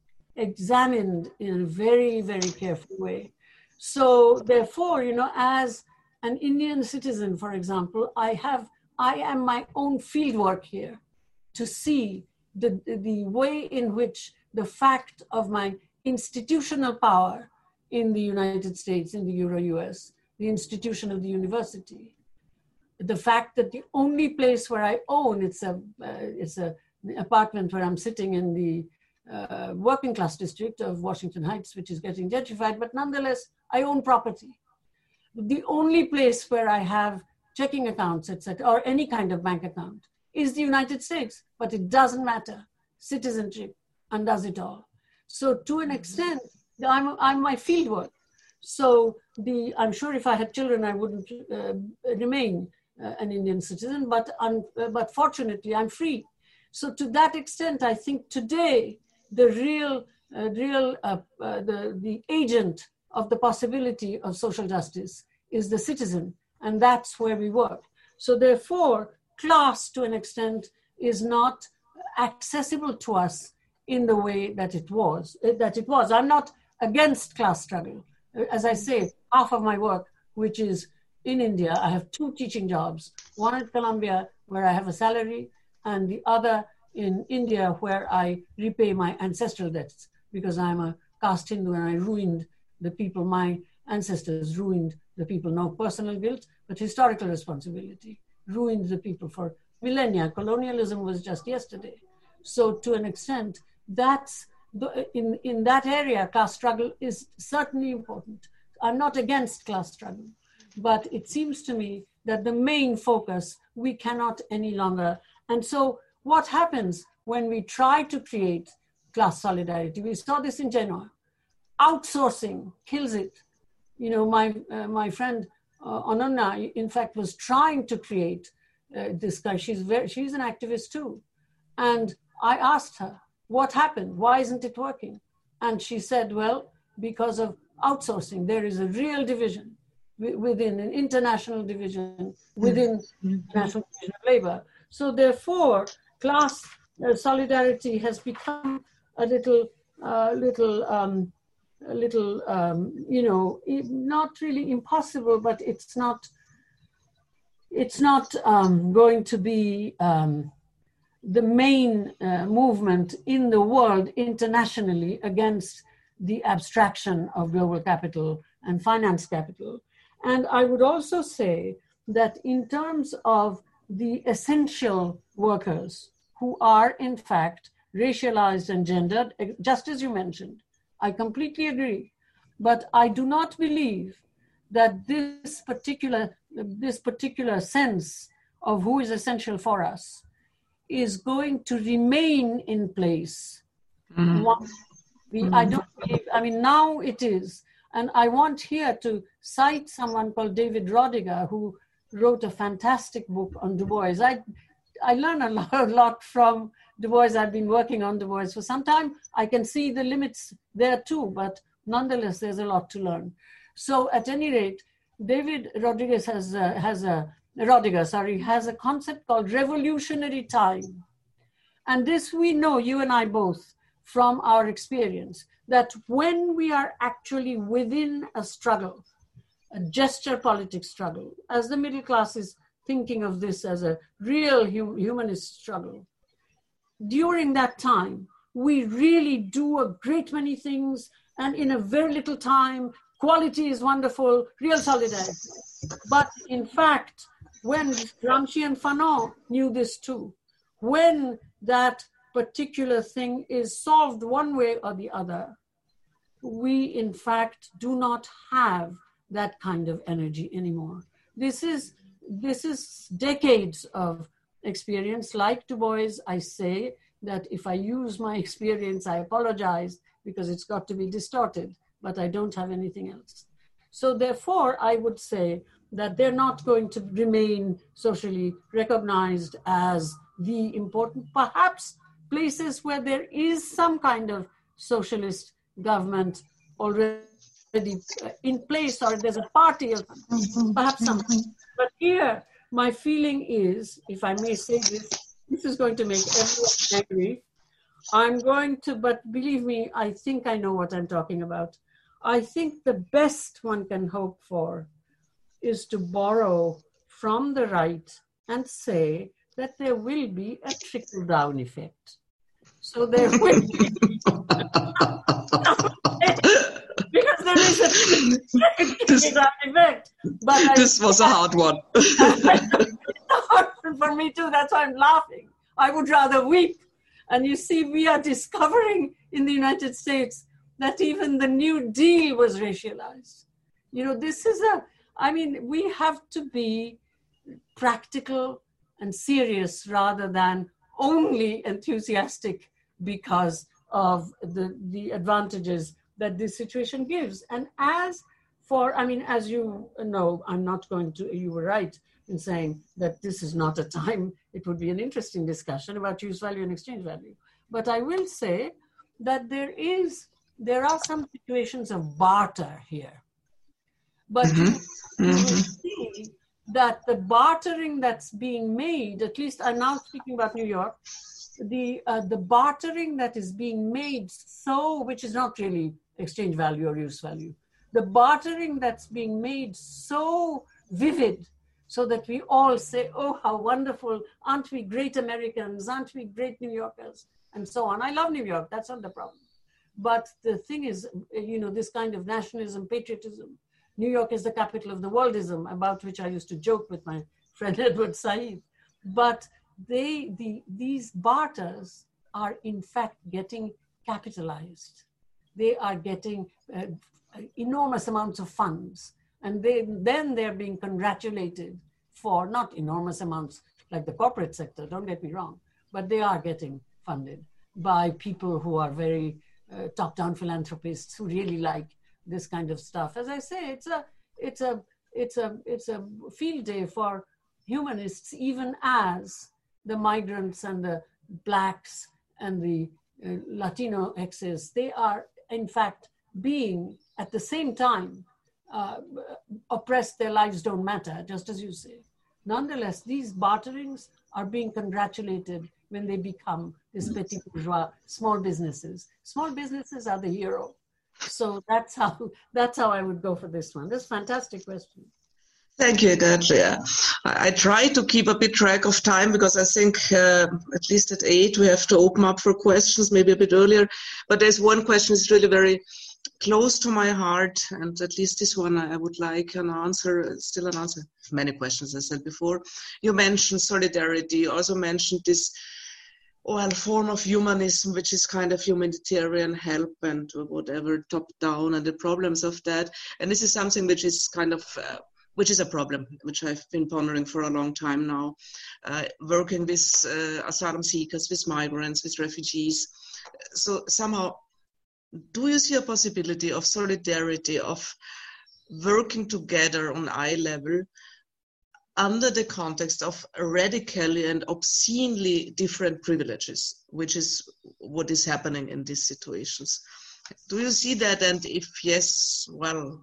examined in a very, very careful way. So therefore, you know, as an Indian citizen, for example, I have, I am my own fieldwork here to see the, the way in which the fact of my institutional power in the United States, in the Euro-U S, the institution of the university, the fact that the only place where I own, it's a, uh, it's a apartment where I'm sitting in the Uh, working class district of Washington Heights, which is getting gentrified, but nonetheless, I own property. The only place where I have checking accounts, et cetera, or any kind of bank account is the United States, but it doesn't matter. Citizenship undoes it all. So to an extent, I'm, I'm my fieldwork. So the, I'm sure if I had children, I wouldn't uh, remain uh, an Indian citizen, but, un, uh, but fortunately I'm free. So to that extent, I think today, the real, uh, real uh, uh, the, the agent of the possibility of social justice is the citizen, and that's where we work. So therefore, class to an extent is not accessible to us in the way that it was, that it was. I'm not against class struggle. As I say, half of my work, which is in India, I have two teaching jobs, one at Columbia where I have a salary, and the other in India where I repay my ancestral debts because I'm a caste Hindu and I ruined the people, my ancestors ruined the people, no personal guilt, but historical responsibility, ruined the people for millennia. Colonialism was just yesterday. So to an extent, that's the, in, in that area, class struggle is certainly important. I'm not against class struggle, but it seems to me that the main focus, we cannot any longer. And so what happens when we try to create class solidarity? We saw this in Genoa. Outsourcing kills it. You know, my, uh, my friend uh, Ananya, in fact, was trying to create uh, this guy. She's, very, she's an activist too. And I asked her, what happened? Why isn't it working? And she said, well, because of outsourcing. There is a real division within an international division, within the National Division of Labor. So therefore, class uh, solidarity has become a little, uh, little, um, a little, um, you know, not really impossible, but it's not, it's not um, going to be um, the main uh, movement in the world internationally against the abstraction of global capital and finance capital. And I would also say that in terms of the essential workers who are in fact racialized and gendered, just as you mentioned, I completely agree. But I do not believe that this particular, this particular sense of who is essential for us is going to remain in place. Mm-hmm. One, we, mm-hmm. I don't believe, I mean, now it is. And I want here to cite someone called David Rodiger, who wrote a fantastic book on Du Bois. I, I learn a lot, a lot from Du Bois. I've been working on Du Bois for some time. I can see the limits there too, but nonetheless, there's a lot to learn. So at any rate, David Rodriguez has a, has a, Rodiger, sorry, has a concept called revolutionary time. And this we know, you and I both, from our experience, that when we are actually within a struggle, a gesture politics struggle, as the middle class is thinking of this as a real hum- humanist struggle, during that time, we really do a great many things, and in a very little time, quality is wonderful, real solidarity. But in fact, when Gramsci and Fanon knew this too, when that particular thing is solved one way or the other, we in fact do not have that kind of energy anymore. This is, this is decades of experience. Like Du Bois, I say that if I use my experience, I apologize because it's got to be distorted, but I don't have anything else. So therefore, I would say that they're not going to remain socially recognized as the important, perhaps places where there is some kind of socialist government already in place, or there's a party of perhaps something. But here, my feeling is, if I may say this, this is going to make everyone angry. I'm going to, but believe me, I think I know what I'm talking about. I think the best one can hope for is to borrow from the right and say that there will be a trickle-down effect. So there will be, because there is a trickle-down effect. But this I, was a hard one. For me too, that's why I'm laughing. I would rather weep. And you see, we are discovering in the United States that even the New Deal was racialized. You know, this is a, I mean, we have to be practical and serious rather than only enthusiastic because of the, the advantages that this situation gives. And as for, I mean, as you know, I'm not going to, you were right in saying that this is not a time, it would be an interesting discussion about use value and exchange value. But I will say that there is, there are some situations of barter here. But mm-hmm. you, you will see that the bartering that's being made, at least I'm now speaking about New York, the uh, the bartering that is being made, so, which is not really exchange value or use value, the bartering that's being made so vivid so that we all say, oh, how wonderful, aren't we great Americans, aren't we great New Yorkers, and so on. I love New York, that's not the problem. But the thing is, you know, this kind of nationalism, patriotism, New York is the capital of the worldism, about which I used to joke with my friend Edward Said. But they, the, these barters are in fact getting capitalized. They are getting uh, enormous amounts of funds. And they, then they're being congratulated for not enormous amounts like the corporate sector, don't get me wrong, but they are getting funded by people who are very uh, top-down philanthropists who really like this kind of stuff. As I say, it's a, it's a, it's a, it's a field day for humanists, even as the migrants and the blacks and the uh, Latino X's, they are in fact being at the same time uh, oppressed. Their lives don't matter, just as you say. Nonetheless, these barterings are being congratulated when they become these petit bourgeois small businesses. Small businesses are the hero. So that's how that's how I would go for this one. This is a fantastic question. Thank you, Gayatri. I, I try to keep a bit track of time because I think uh, at least at eight we have to open up for questions, maybe a bit earlier. But there's one question that's really very close to my heart, and at least this one I would like an answer, still an answer. Many questions, as I said before. You mentioned solidarity, you also mentioned this well, form of humanism, which is kind of humanitarian help and whatever, top down, and the problems of that. And this is something which is kind of, uh, which is a problem, which I've been pondering for a long time now, uh, working with uh, asylum seekers, with migrants, with refugees. So somehow, do you see a possibility of solidarity, of working together on eye level, under the context of radically and obscenely different privileges, which is what is happening in these situations? Do you see that? And if yes, well,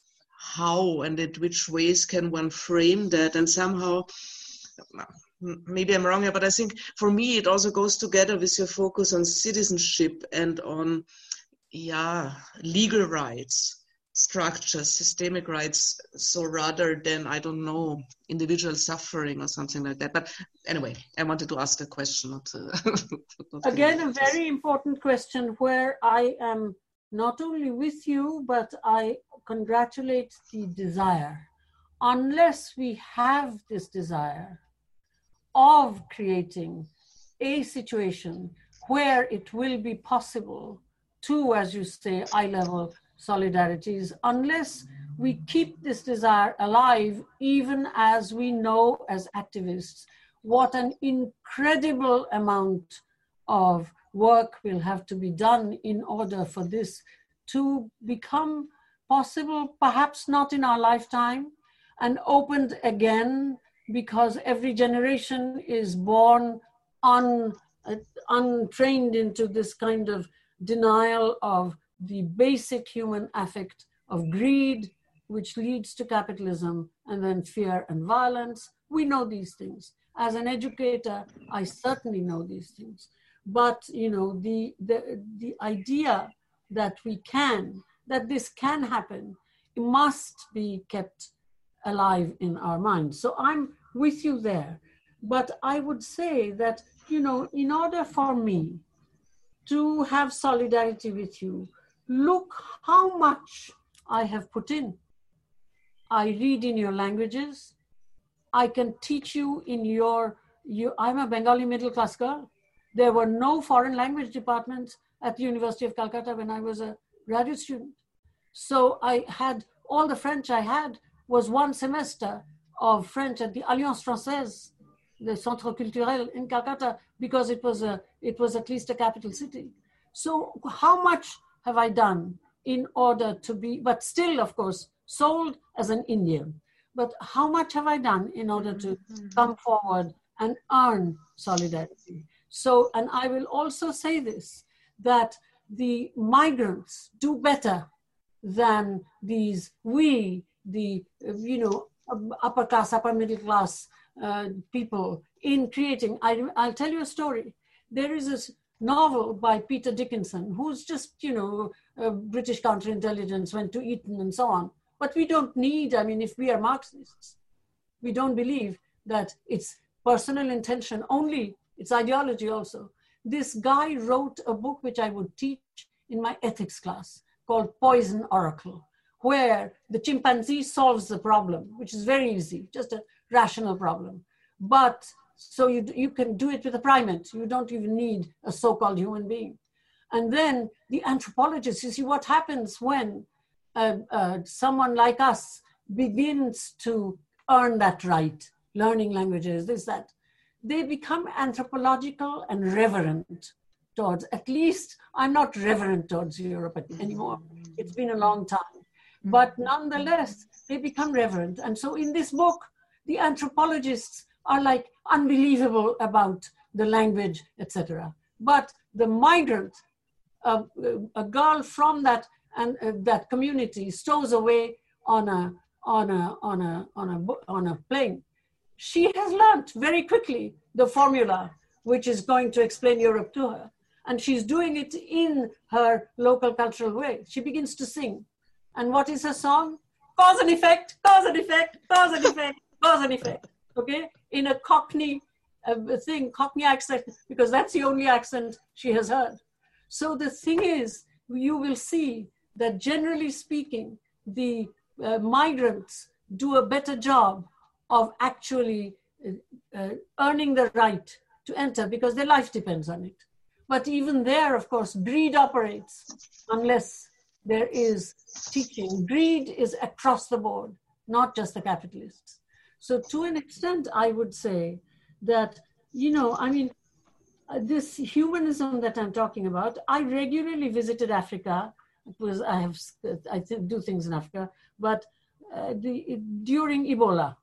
how and in which ways can one frame that? And somehow, maybe I'm wrong here, but I think for me it also goes together with your focus on citizenship and on, yeah, legal rights, structures, systemic rights, so rather than, I don't know, individual suffering or something like that. But anyway, I wanted to ask the question. Not, uh, not Again, a very important question where I am not only with you, but I congratulate the desire. Unless we have this desire of creating a situation where it will be possible to, as you say, eye-level solidarities, unless we keep this desire alive, even as we know as activists what an incredible amount of work will have to be done in order for this to become possible, perhaps not in our lifetime, and opened again, because every generation is born un, uh, untrained into this kind of denial of the basic human affect of greed, which leads to capitalism, and then fear and violence. We know these things. As an educator, I certainly know these things. But, you know, the, the, the idea that we can, that this can happen, must be kept alive in our minds. So I'm with you there. But I would say that, you know, in order for me to have solidarity with you, look how much I have put in. I read in your languages. I can teach you in your, you, I'm a Bengali middle class girl. There were no foreign language departments at the University of Calcutta when I was a graduate student. So I had, all the French I had was one semester of French at the Alliance Française, the Centre Culturel in Calcutta, because it was a, it was at least a capital city. So how much have I done in order to be, but still, of course, sold as an Indian. But how much have I done in order to come forward and earn solidarity? So, and I will also say this, that the migrants do better than these, we, the, you know, upper class, upper middle class uh, people in creating. I, I'll tell you a story. There is this novel by Peter Dickinson, who's just, you know, uh, British counterintelligence, went to Eton and so on. But we don't need, I mean, if we are Marxists, we don't believe that it's personal intention only, it's ideology also. This guy wrote a book which I would teach in my ethics class called Poison Oracle, where the chimpanzee solves the problem, which is very easy, just a rational problem. But so you, you can do it with a primate. You don't even need a so-called human being. And then the anthropologists, you see what happens when uh, uh, someone like us begins to earn that right, learning languages, this, that. They become anthropological and reverent towards, at least I'm not reverent towards Europe anymore. It's been a long time. But nonetheless, they become reverent. And so in this book, the anthropologists are like unbelievable about the language, et cetera. But the migrant, uh, a girl from that and uh, that community, stows away on a on a on a on a on a plane. She has learnt very quickly the formula which is going to explain Europe to her, and she's doing it in her local cultural way. She begins to sing, and what is her song? Cause and effect, cause and effect, cause and effect, cause and effect. Okay, in a Cockney uh, thing, Cockney accent, because that's the only accent she has heard. So the thing is, you will see that generally speaking, the uh, migrants do a better job of actually uh, uh, earning the right to enter because their life depends on it. But even there, of course, greed operates unless there is teaching. Greed is across the board, not just the capitalists. So to an extent, I would say that, you know, I mean, uh, this humanism that I'm talking about, I regularly visited Africa. It was, I have, I do things in Africa, but uh, the, during Ebola,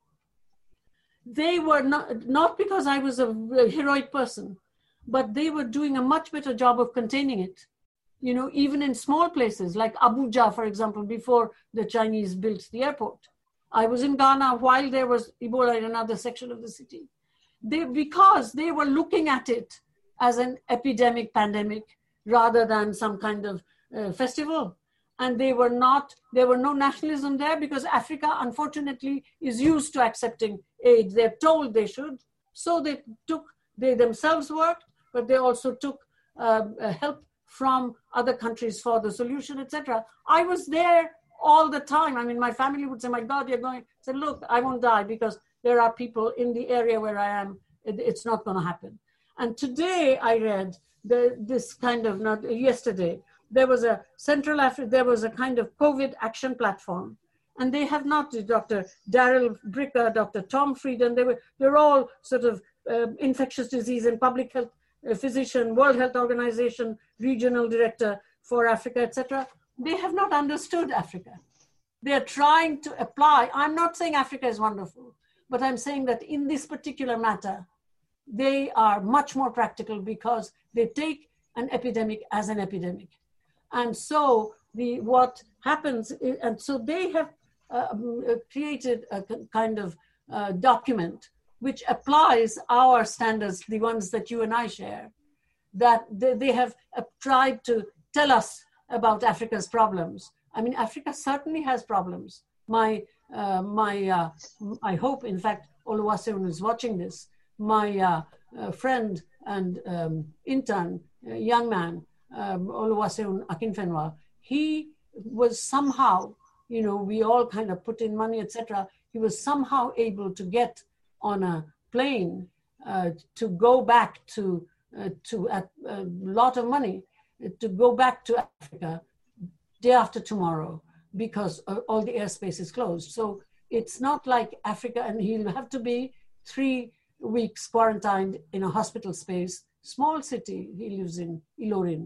they were not, not because I was a, a heroic person, but they were doing a much better job of containing it. You know, even in small places like Abuja, for example, before the Chinese built the airport. I was in Ghana while there was Ebola in another section of the city. They, because they were looking at it as an epidemic pandemic rather than some kind of uh, festival. And they were not, there were no nationalism there because Africa, unfortunately, is used to accepting aid. They're told they should. So they took, they themselves worked, but they also took uh, help from other countries for the solution, et cetera. I was there all the time. I mean, my family would say, my God, you're going, I said, look, I won't die because there are people in the area where I am. It, it's not going to happen. And today I read the, this kind of, not yesterday, there was a Central Africa, there was a kind of COVID action platform. And they have not, Doctor Daryl Bricker, Doctor Tom Frieden, they were, they're all sort of uh, infectious disease and public health uh, physician, World Health Organization, regional director for Africa, et cetera. They have not understood Africa. They are trying to apply. I'm not saying Africa is wonderful, but I'm saying that in this particular matter, they are much more practical because they take an epidemic as an epidemic. And so the what happens, is, and so they have uh, created a kind of uh, document which applies our standards, the ones that you and I share, that they, they have uh, tried to tell us about Africa's problems. I mean, Africa certainly has problems. My, uh, my, uh, I hope, in fact, Oluwaseun is watching this. My uh, uh, friend and um, intern, uh, young man, um, Oluwaseun Akinfenwa, he was somehow, you know, we all kind of put in money, et cetera. He was somehow able to get on a plane uh, to go back to, uh, to a, a lot of money, to go back to Africa day after tomorrow because all the airspace is closed. So it's not like Africa, and he'll have to be three weeks quarantined in a hospital space, small city, he lives in Ilorin.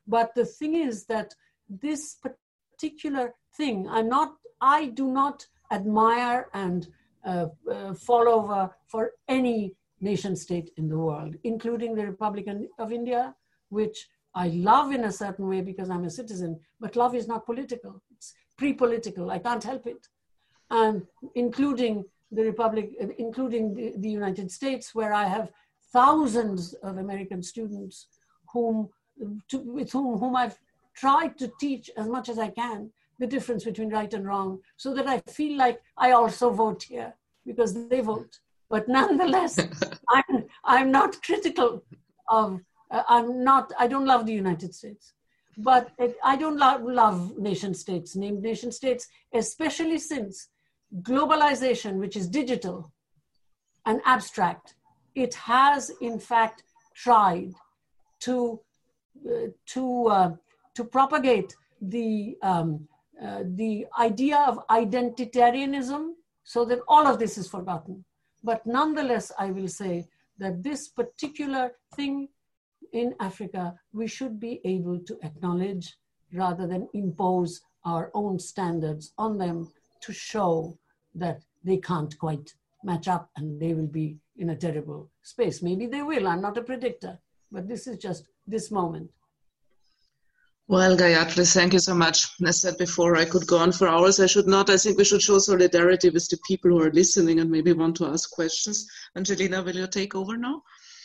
But the thing is that this particular thing, I'm not, I do not admire and uh, uh, fall over for any nation state in the world, including the Republic of India, which I love in a certain way because I'm a citizen, but love is not political. It's pre-political. I can't help it. And including the Republic, including the, the United States, where I have thousands of American students whom, to, with whom, whom I've tried to teach as much as I can the difference between right and wrong, so that I feel like I also vote here because they vote. But nonetheless, I'm, I'm not critical of, uh, I'm not, I don't love the United States, but it, I don't lo- love nation states, named nation states, especially since globalization, which is digital and abstract, it has in fact tried to, uh, to, uh, to propagate the, um, uh, the idea of identitarianism so that all of this is forgotten. But nonetheless, I will say that this particular thing in Africa, we should be able to acknowledge rather than impose our own standards on them to show that they can't quite match up and they will be in a terrible space. Maybe they will, I'm not a predictor, but this is just this moment. Well, Gayatri, thank you so much. As I said before, I could go on for hours. I should not. I think we should show solidarity with the people who are listening and maybe want to ask questions. Angelina, will you take over now?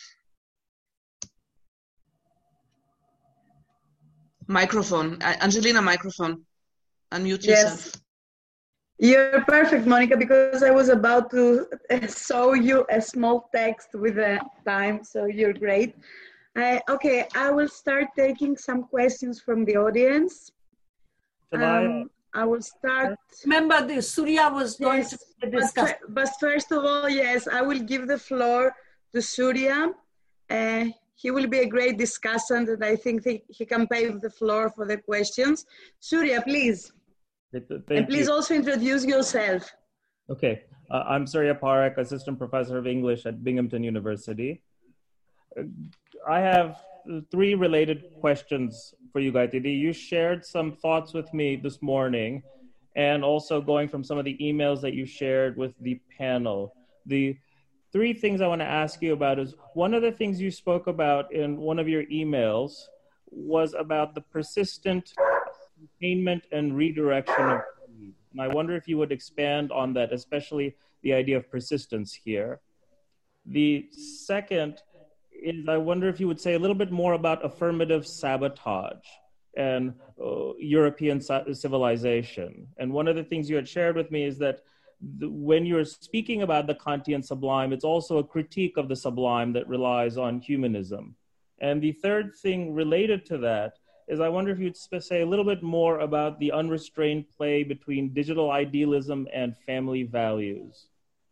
Microphone. Uh, Angelina, microphone. Unmute yourself. Yes. You're perfect, Monica, because I was about to show you a small text with a time, so you're great. Uh, okay, I will start taking some questions from the audience. Um, I will start. Remember, the Surya was going yes, to discuss. But, but first of all, yes, I will give the floor to Surya. Uh, he will be a great discussant, and I think he, he can pave the floor for the questions. Surya, please. Thank and please you. also introduce yourself. Okay, uh, I'm Surya Parekh, Assistant Professor of English at Binghamton University. Uh, I have three related questions for you, Gayatri. You shared some thoughts with me this morning, and also going from some of the emails that you shared with the panel. The three things I want to ask you about is, one of the things you spoke about in one of your emails was about the persistent containment and redirection of need. And I wonder if you would expand on that, especially the idea of persistence here. The second is, I wonder if you would say a little bit more about affirmative sabotage and uh, European civilization. And one of the things you had shared with me is that the, when you're speaking about the Kantian sublime, it's also a critique of the sublime that relies on humanism. And the third thing related to that is, I wonder if you'd say a little bit more about the unrestrained play between digital idealism and family values.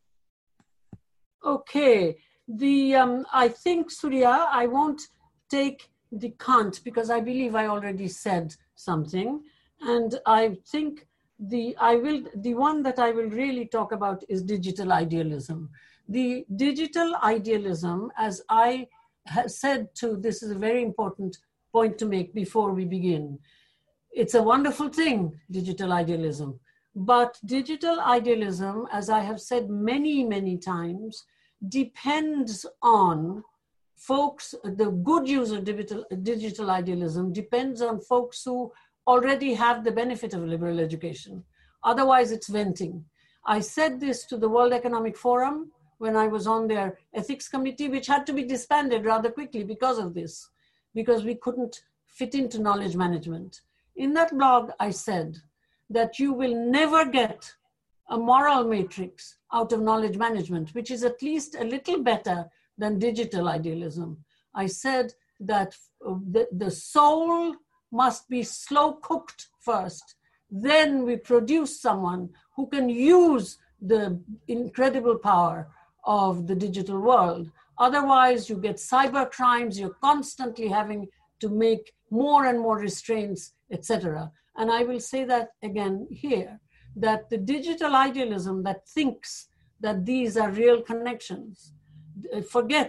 Okay. The um, I think, Surya, I won't take the Kant because I believe I already said something, and I think the I will the one that I will really talk about is digital idealism. The digital idealism, as I have said to, this is a very important point to make before we begin. It's a wonderful thing, digital idealism, but digital idealism, as I have said many, many times, depends on folks, the good use of digital, digital idealism depends on folks who already have the benefit of liberal education. Otherwise, it's venting. I said this to the World Economic Forum when I was on their ethics committee, which had to be disbanded rather quickly because of this, because we couldn't fit into knowledge management. In that blog, I said that you will never get a moral matrix out of knowledge management, which is at least a little better than digital idealism. I said that the, the soul must be slow cooked first. Then we produce someone who can use the incredible power of the digital world. Otherwise, you get cyber crimes, you're constantly having to make more and more restraints, et cetera. And I will say that again here, that the digital idealism that thinks that these are real connections forgets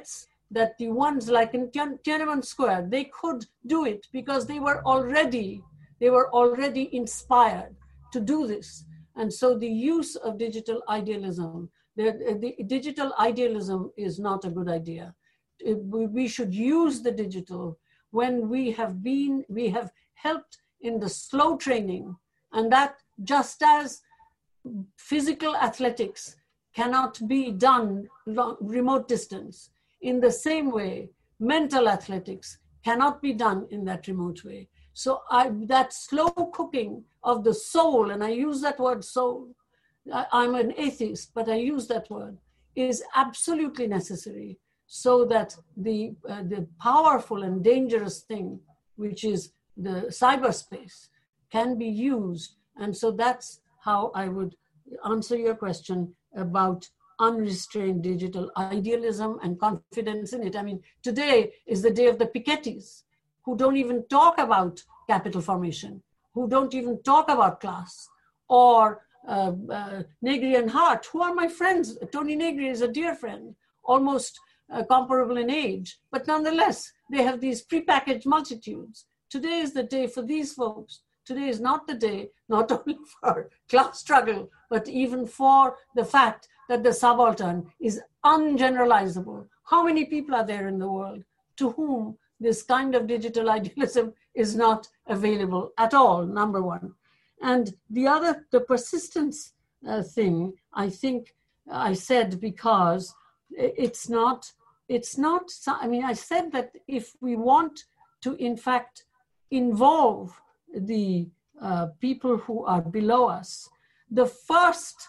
that the ones like in Tiananmen Square, they could do it because they were already, they were already inspired to do this. And so the use of digital idealism, the, the digital idealism is not a good idea. It, we should use the digital when we have been, we have helped in the slow training, and that just as physical athletics cannot be done long, remote distance, in the same way, mental athletics cannot be done in that remote way. So I, that slow cooking of the soul, and I use that word soul, I, I'm an atheist, but I use that word, is absolutely necessary so that the, uh, the powerful and dangerous thing, which is the cyberspace, can be used. And so that's how I would answer your question about unrestrained digital idealism and confidence in it. I mean, today is the day of the Piketty's, who don't even talk about capital formation, who don't even talk about class, or uh, uh, Negri and Hart, who are my friends. Tony Negri is a dear friend, almost uh, comparable in age, but nonetheless, they have these prepackaged multitudes. Today is the day for these folks. Today is not the day, not only for class struggle, but even for the fact that the subaltern is ungeneralizable. How many people are there in the world to whom this kind of digital idealism is not available at all, number one. And the other, the persistence uh, thing, I think I said because it's not, it's not, I mean, I said that if we want to, in fact, involve the uh, people who are below us, the first,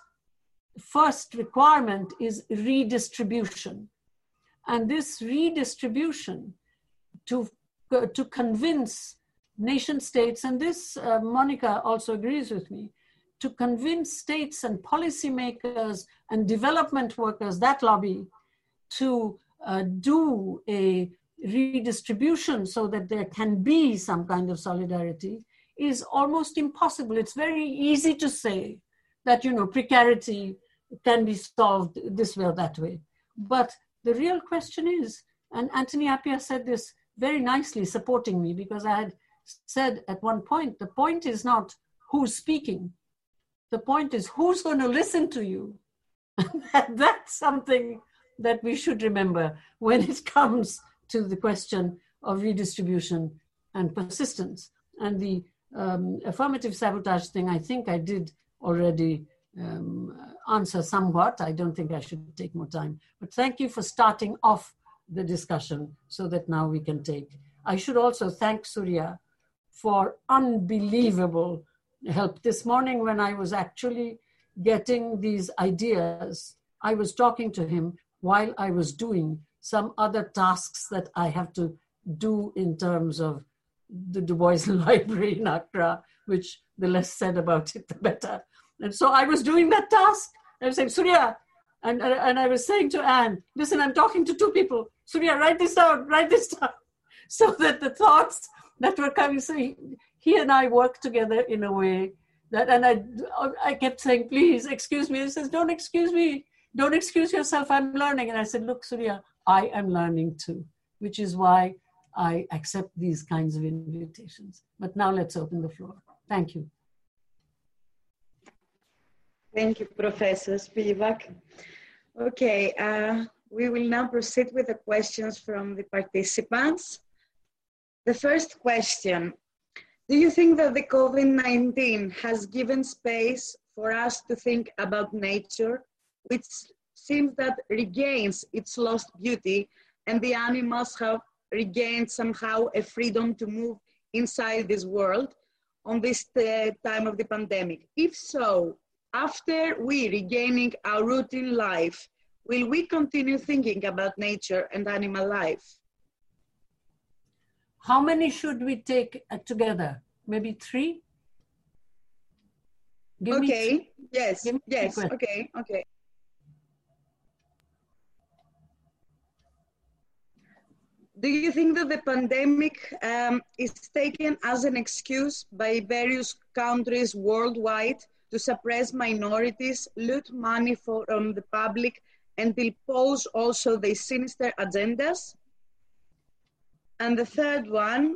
first requirement is redistribution. And this redistribution to, uh, to convince nation states, and this uh, Monica also agrees with me, to convince states and policymakers and development workers, that lobby, to uh, do a redistribution so that there can be some kind of solidarity is almost impossible. It's very easy to say that, you know, precarity can be solved this way or that way. But the real question is, and Anthony Appiah said this very nicely, supporting me, because I had said at one point, the point is not who's speaking. The point is who's going to listen to you. That's something that we should remember when it comes to the question of redistribution and persistence. And the um, affirmative sabotage thing, I think I did already um, answer somewhat. I don't think I should take more time. But thank you for starting off the discussion so that now we can take. I should also thank Surya for unbelievable help. This morning when I was actually getting these ideas, I was talking to him while I was doing some other tasks that I have to do in terms of the Du Bois Library in Accra, which the less said about it, the better. And so I was doing that task. I was saying, Surya, and, and I was saying to Anne, listen, I'm talking to two people. Surya, write this down, write this down. So that the thoughts that were coming, so he, he and I worked together in a way that, and I, I kept saying, please, excuse me. He says, don't excuse me. Don't excuse yourself, I'm learning. And I said, look, Surya, I am learning too, which is why I accept these kinds of invitations. But now let's open the floor. Thank you. Thank you, Professor Spivak. Okay, uh, we will now proceed with the questions from the participants. The first question, do you think that the COVID nineteen has given space for us to think about nature, which seems that regains its lost beauty, and the animals have regained somehow a freedom to move inside this world on this uh, time of the pandemic? If so, after we regaining our routine life, will we continue thinking about nature and animal life? How many should we take uh, together? Maybe three? Give okay, me yes, Give me yes, okay, okay. Do you think that the pandemic um, is taken as an excuse by various countries worldwide to suppress minorities, loot money from the public, and will pose also the sinister agendas. And the third one,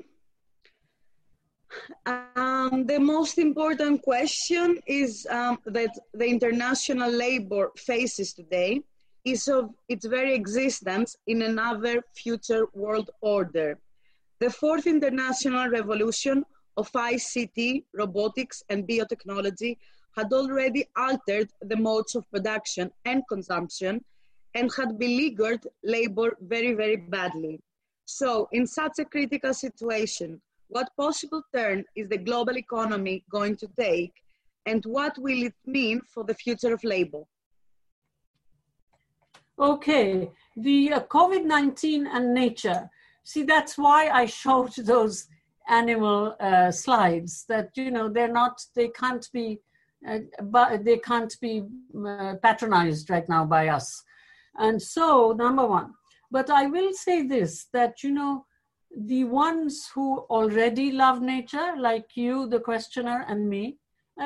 um, the most important question is um, that the international labor faces today is of its very existence in another future world order. The fourth international revolution of I C T, robotics, and biotechnology had already altered the modes of production and consumption and had beleaguered labor very, very badly. So in such a critical situation, what possible turn is the global economy going to take, and what will it mean for the future of labor? Okay, the uh, COVID nineteen and nature. See, that's why I showed those animal uh, slides, that, you know, they're not, they can't be, uh, but they can't be uh, patronized right now by us. And so, number one. But I will say this, that, you know, the ones who already love nature, like you, the questioner, and me,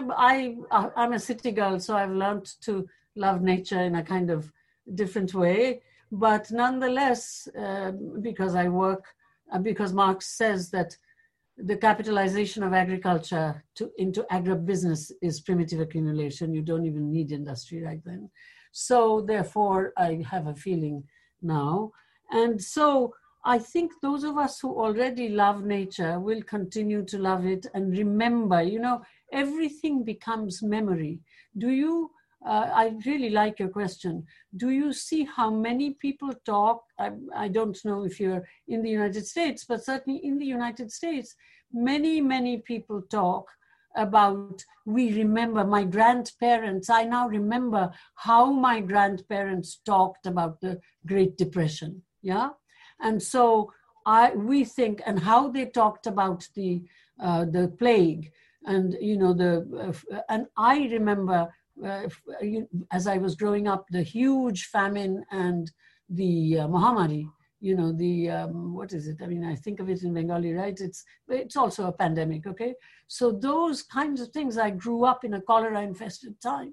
I, I, I'm a city girl, so I've learned to love nature in a kind of different way. But nonetheless, uh, because I work, uh, because Marx says that the capitalization of agriculture to, into agribusiness is primitive accumulation. You don't even need industry right then. So therefore, I have a feeling now. And so I think those of us who already love nature will continue to love it and remember, you know, everything becomes memory. Do you, uh, I really like your question. Do you see how many people talk? I, I don't know if you're in the United States, but certainly in the United States, many, many people talk about, we remember my grandparents. I now remember how my grandparents talked about the Great Depression. Yeah. And so I, we think, and how they talked about the, uh, the plague and, you know, the, uh, and I remember uh, as I was growing up, the huge famine and the uh, Mahamari, you know, the, um, what is it? I mean, I think of it in Bengali, right? It's, it's also a pandemic, okay? So those kinds of things, I grew up in a cholera infested time.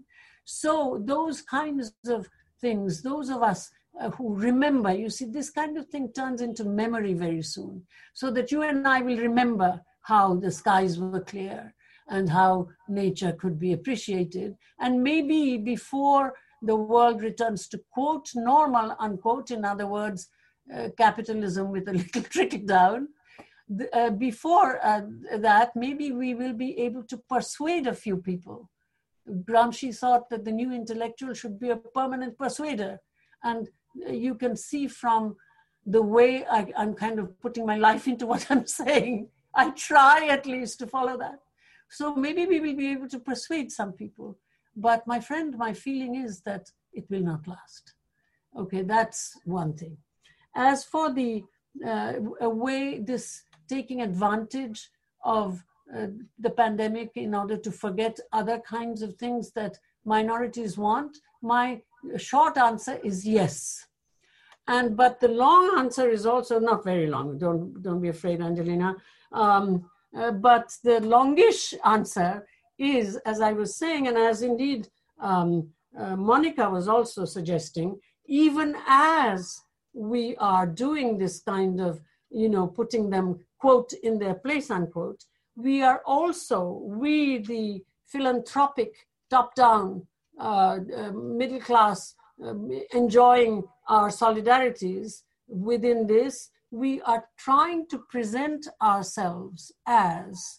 So those kinds of things, those of us uh, who remember, you see, this kind of thing turns into memory very soon, so that you and I will remember how the skies were clear and how nature could be appreciated. And maybe before the world returns to quote normal, unquote, in other words, uh, capitalism with a little trickle down, uh, before uh, that, maybe we will be able to persuade a few people. Gramsci thought that the new intellectual should be a permanent persuader. And you can see from the way I, I'm kind of putting my life into what I'm saying, I try at least to follow that. So maybe we will be able to persuade some people. But my friend, my feeling is that it will not last. Okay, that's one thing. As for the uh, way this taking advantage of uh, the pandemic in order to forget other kinds of things that minorities want, my short answer is yes. And but the long answer is also not very long. Don't don't be afraid, Angelina. Um, uh, but the longish answer is, as I was saying, and as indeed um, uh, Monica was also suggesting, even as we are doing this kind of, you know, putting them, quote, in their place, unquote, we are also, we the philanthropic, top-down, uh, uh, middle class, uh, enjoying our solidarities within this, we are trying to present ourselves as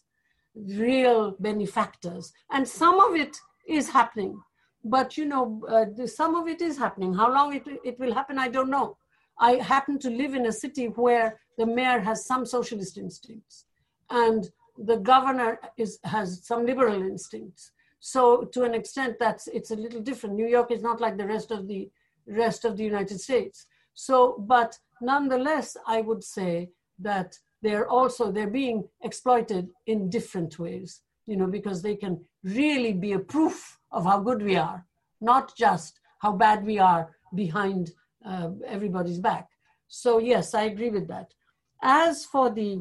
real benefactors. And some of it is happening. But, you know, uh, some of it is happening. How long it, it will happen, I don't know. I happen to live in a city where the mayor has some socialist instincts and the governor is, has some liberal instincts. So to an extent, that's, it's a little different. New York is not like the rest of the rest of the United States. So, but nonetheless, I would say that they're also, they're being exploited in different ways, you know, because they can really be a proof of how good we are, not just how bad we are behind uh, everybody's back. So yes, I agree with that. As for the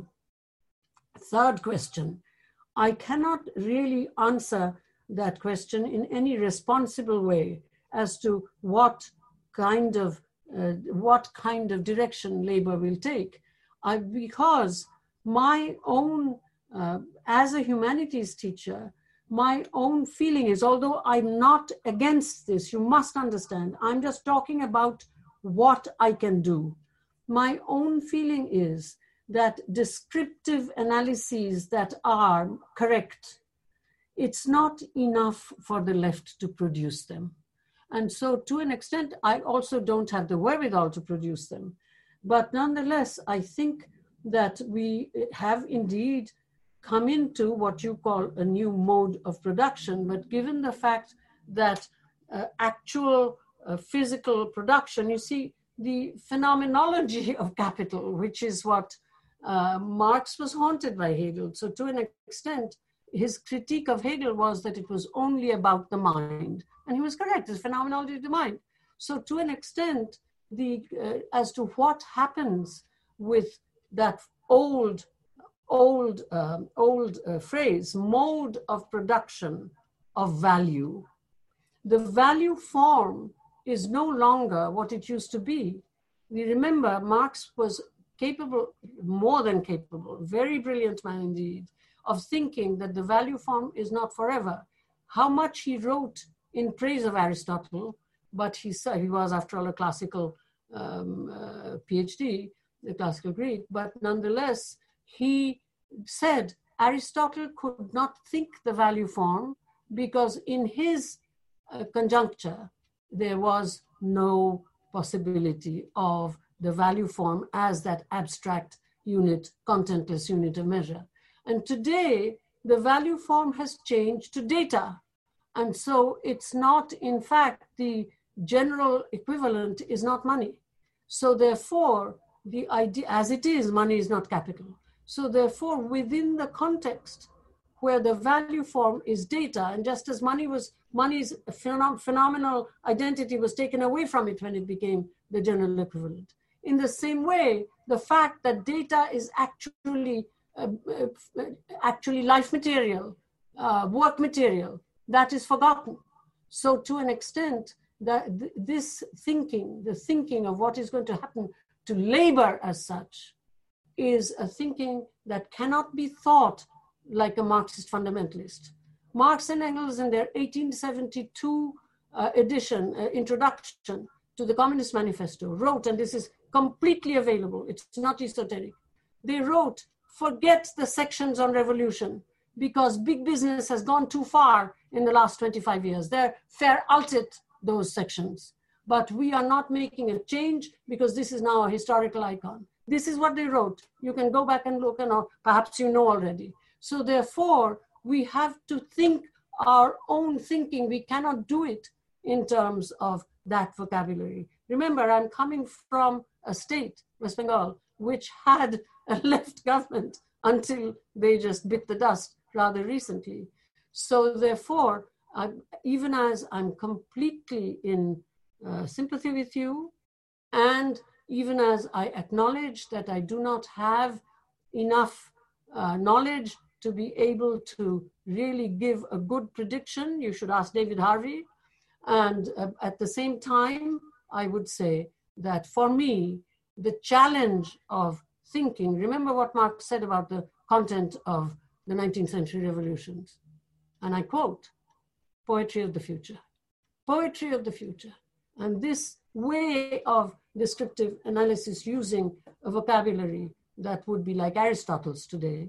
third question, I cannot really answer that question in any responsible way as to what kind of uh, what kind of direction labor will take. I, because my own, uh, as a humanities teacher, my own feeling is, although I'm not against this, you must understand, I'm just talking about what I can do. My own feeling is that descriptive analyses that are correct, it's not enough for the left to produce them. And so to an extent, I also don't have the wherewithal to produce them. But nonetheless, I think that we have indeed come into what you call a new mode of production. But given the fact that uh, actual uh, physical production, you see, the phenomenology of capital, which is what uh, Marx was haunted by Hegel. So to an extent, his critique of Hegel was that it was only about the mind. And he was correct, it's phenomenology of the mind. So to an extent, the uh, as to what happens with that old, old, um, old uh, phrase, mode of production of value, the value form is no longer what it used to be. We remember Marx was capable, more than capable, very brilliant man indeed, of thinking that the value form is not forever. How much he wrote in praise of Aristotle, but he said he was, after all, a classical um, uh, PhD, a classical Greek, but nonetheless, he said Aristotle could not think the value form because in his uh, conjuncture, there was no possibility of the value form as that abstract unit, contentless unit of measure. And today, the value form has changed to data. And so it's not, in fact, the general equivalent is not money. So therefore, the idea, as it is, money is not capital. So therefore, within the context where the value form is data, and just as money was, money's phenom- phenomenal identity was taken away from it when it became the general equivalent. In the same way, the fact that data is actually uh, uh, actually life material, uh, work material, that is forgotten. So to an extent, that th- this thinking, the thinking of what is going to happen to labor as such, is a thinking that cannot be thought like a Marxist fundamentalist. Marx and Engels, in their eighteen seventy-two uh, edition, uh, introduction to the Communist Manifesto, wrote, and this is completely available, it's not esoteric, they wrote, forget the sections on revolution, because big business has gone too far in the last twenty-five years. They're veraltet, those sections. But we are not making a change because this is now a historical icon. This is what they wrote. You can go back and look, and perhaps you know already. So therefore, we have to think our own thinking. We cannot do it in terms of that vocabulary. Remember, I'm coming from a state, West Bengal, which had a left government until they just bit the dust rather recently. So therefore, I, even as I'm completely in uh, sympathy with you, and even as I acknowledge that I do not have enough uh, knowledge to be able to really give a good prediction, you should ask David Harvey. And uh, at the same time, I would say that for me, the challenge of thinking, remember what Marx said about the content of the nineteenth century revolutions. And I quote, poetry of the future, poetry of the future. And this way of descriptive analysis using a vocabulary that would be like Aristotle's today,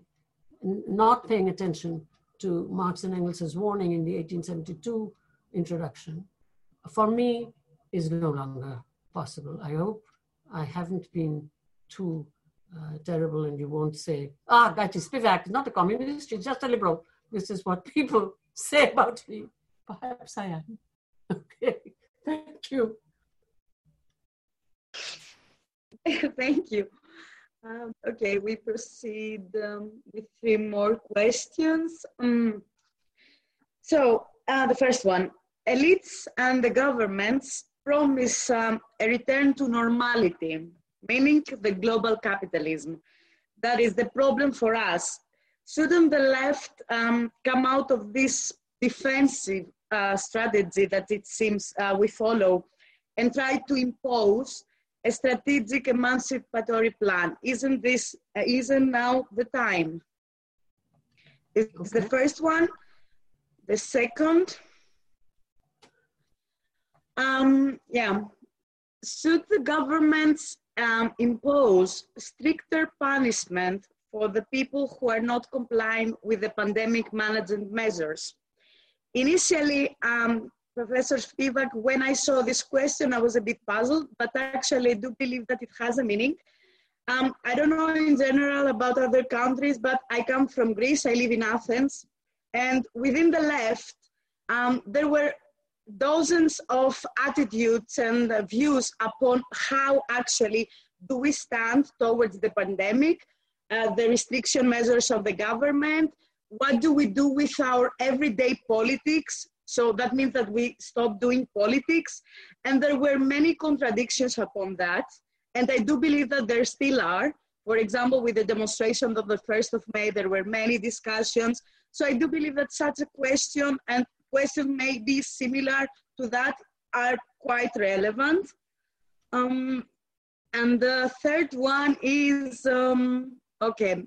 not paying attention to Marx and Engels' warning in the eighteen seventy-two introduction, for me is no longer possible. I hope I haven't been too uh, terrible and you won't say, ah, Gayatri Spivak is not a communist, she's just a liberal. This is what people say about me. Perhaps I am. Okay, thank you. Thank you. Um, okay, we proceed um, with three more questions. Um, so uh, the first one, elites and the governments promise um, a return to normality, meaning the global capitalism. That is the problem for us. Shouldn't the left um, come out of this defensive uh, strategy that it seems uh, we follow and try to impose a strategic emancipatory plan. Isn't this, uh, isn't now the time? It's okay. The first one. The second, um, yeah, should the governments um, impose stricter punishment for the people who are not complying with the pandemic management measures? Initially, um, Professor Spivak, when I saw this question, I was a bit puzzled, but actually I do believe that it has a meaning. Um, I don't know in general about other countries, but I come from Greece, I live in Athens, and within the left, um, there were dozens of attitudes and uh, views upon how actually do we stand towards the pandemic, uh, the restriction measures of the government, what do we do with our everyday politics? So that means that we stop doing politics. And there were many contradictions upon that. And I do believe that there still are. For example, with the demonstration of the first of May, there were many discussions. So I do believe that such a question and questions may be similar to that are quite relevant. Um, and the third one is, um, okay,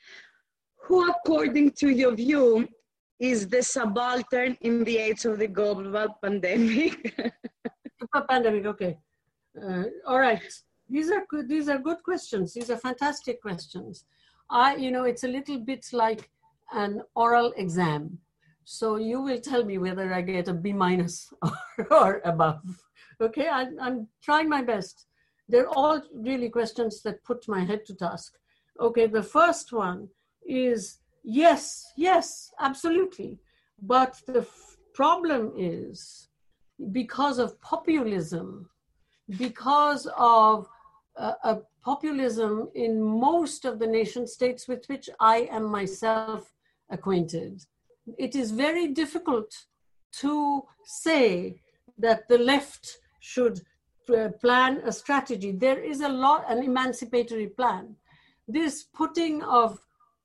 who according to your view is the subaltern in the age of the global pandemic? Pandemic, okay. Uh, all right. These are good. These are good questions. These are fantastic questions. I, you know, it's a little bit like an oral exam. So you will tell me whether I get a B minus or, or above. Okay, I, I'm trying my best. They're all really questions that put my head to task. Okay, the first one is yes, yes, absolutely. But the f- problem is because of populism, because of uh, a populism in most of the nation states with which I am myself acquainted, it is very difficult to say that the left should uh, plan a strategy. There is a lot, an emancipatory plan. This putting of,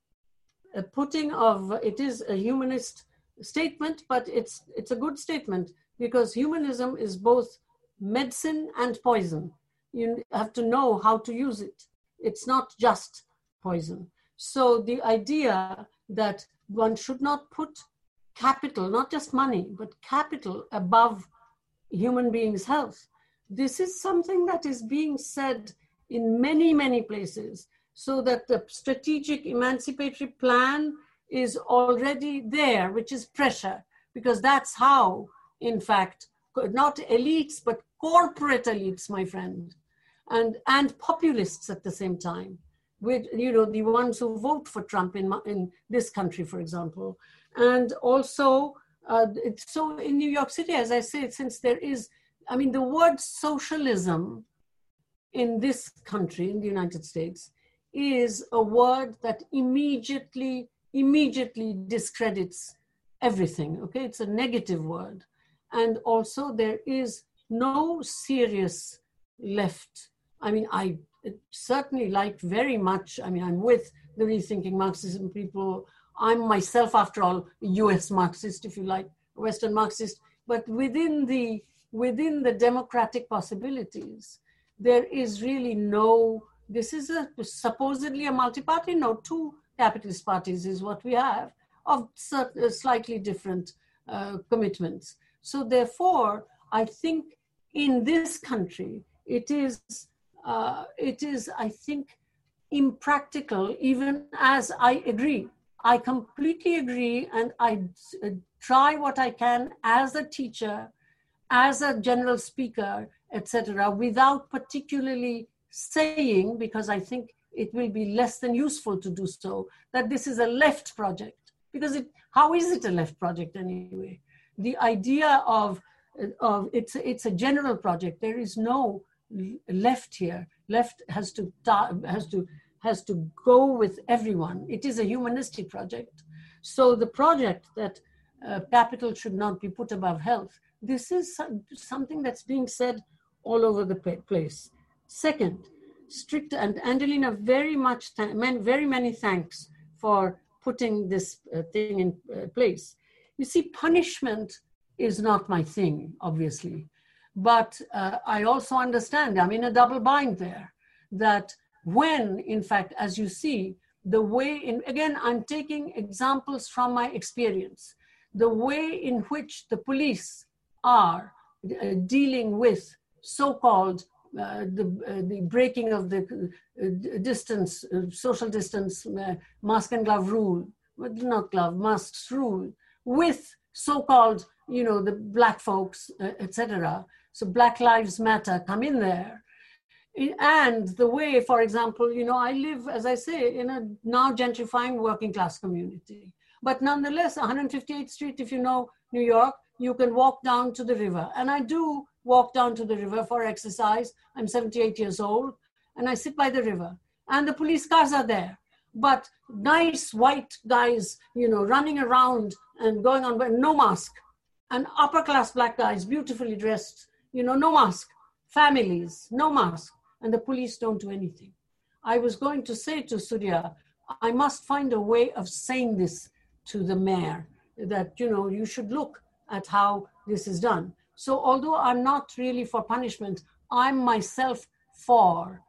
uh, putting of, it is a humanist statement, but it's it's a good statement because humanism is both medicine and poison. You have to know how to use it. It's not just poison. So the idea that one should not put capital, not just money, but capital above human beings' health. This is something that is being said in many, many places, so that the strategic emancipatory plan is already there, which is pressure, because that's how, in fact, not elites, but corporate elites, my friend, and, and populists at the same time, with, you know, the ones who vote for Trump in, in this country, for example. And also, uh, it's so in New York City, as I say, since there is, I mean, the word socialism in this country, in the United States, is a word that immediately, immediately discredits everything, okay? It's a negative word. And also there is no serious left. I mean, I certainly like very much, I mean, I'm with the Rethinking Marxism people. I'm myself, after all, a U S Marxist, if you like, a Western Marxist, but within the, within the democratic possibilities, there is really no, this is a supposedly a multi-party, no, two capitalist parties is what we have, of certain, slightly different uh, commitments. So therefore, I think in this country, it is, uh, it is, I think, impractical, even as I agree. I completely agree, and I uh, try what I can as a teacher, as a general speaker, et cetera, without particularly saying, because I think it will be less than useful to do so, that this is a left project. Because it, how is it a left project anyway? The idea of, of it's, it's a general project. There is no left here. Left has to, has to, has to go with everyone. It is a humanistic project. So the project that uh, capital should not be put above health, this is something that's being said all over the place. Second, strict, and Angelina, very much, th- very many thanks for putting this uh, thing in uh, place. You see, punishment is not my thing, obviously, But uh, I also understand, I'm in a double bind there, that when, in fact, as you see, the way in, again, I'm taking examples from my experience, the way in which the police are uh, dealing with so-called uh, the, uh, the breaking of the uh, distance, uh, social distance, uh, mask and glove rule, not glove, masks rule, with so-called, you know, the black folks, uh, et cetera. So Black Lives Matter come in there. And the way, for example, you know, I live, as I say, in a now gentrifying working class community. But nonetheless, one fifty-eighth Street, if you know New York, you can walk down to the river. And I do walk down to the river for exercise. I'm seventy-eight years old, and I sit by the river. And the police cars are there. But nice white guys, you know, running around and going on, but no mask. And upper class black guys, beautifully dressed, you know, no mask. Families, no mask. And the police don't do anything. I was going to say to Surya, I must find a way of saying this to the mayor, that, you know, you should look at how this is done. So although I'm not really for punishment, I'm myself for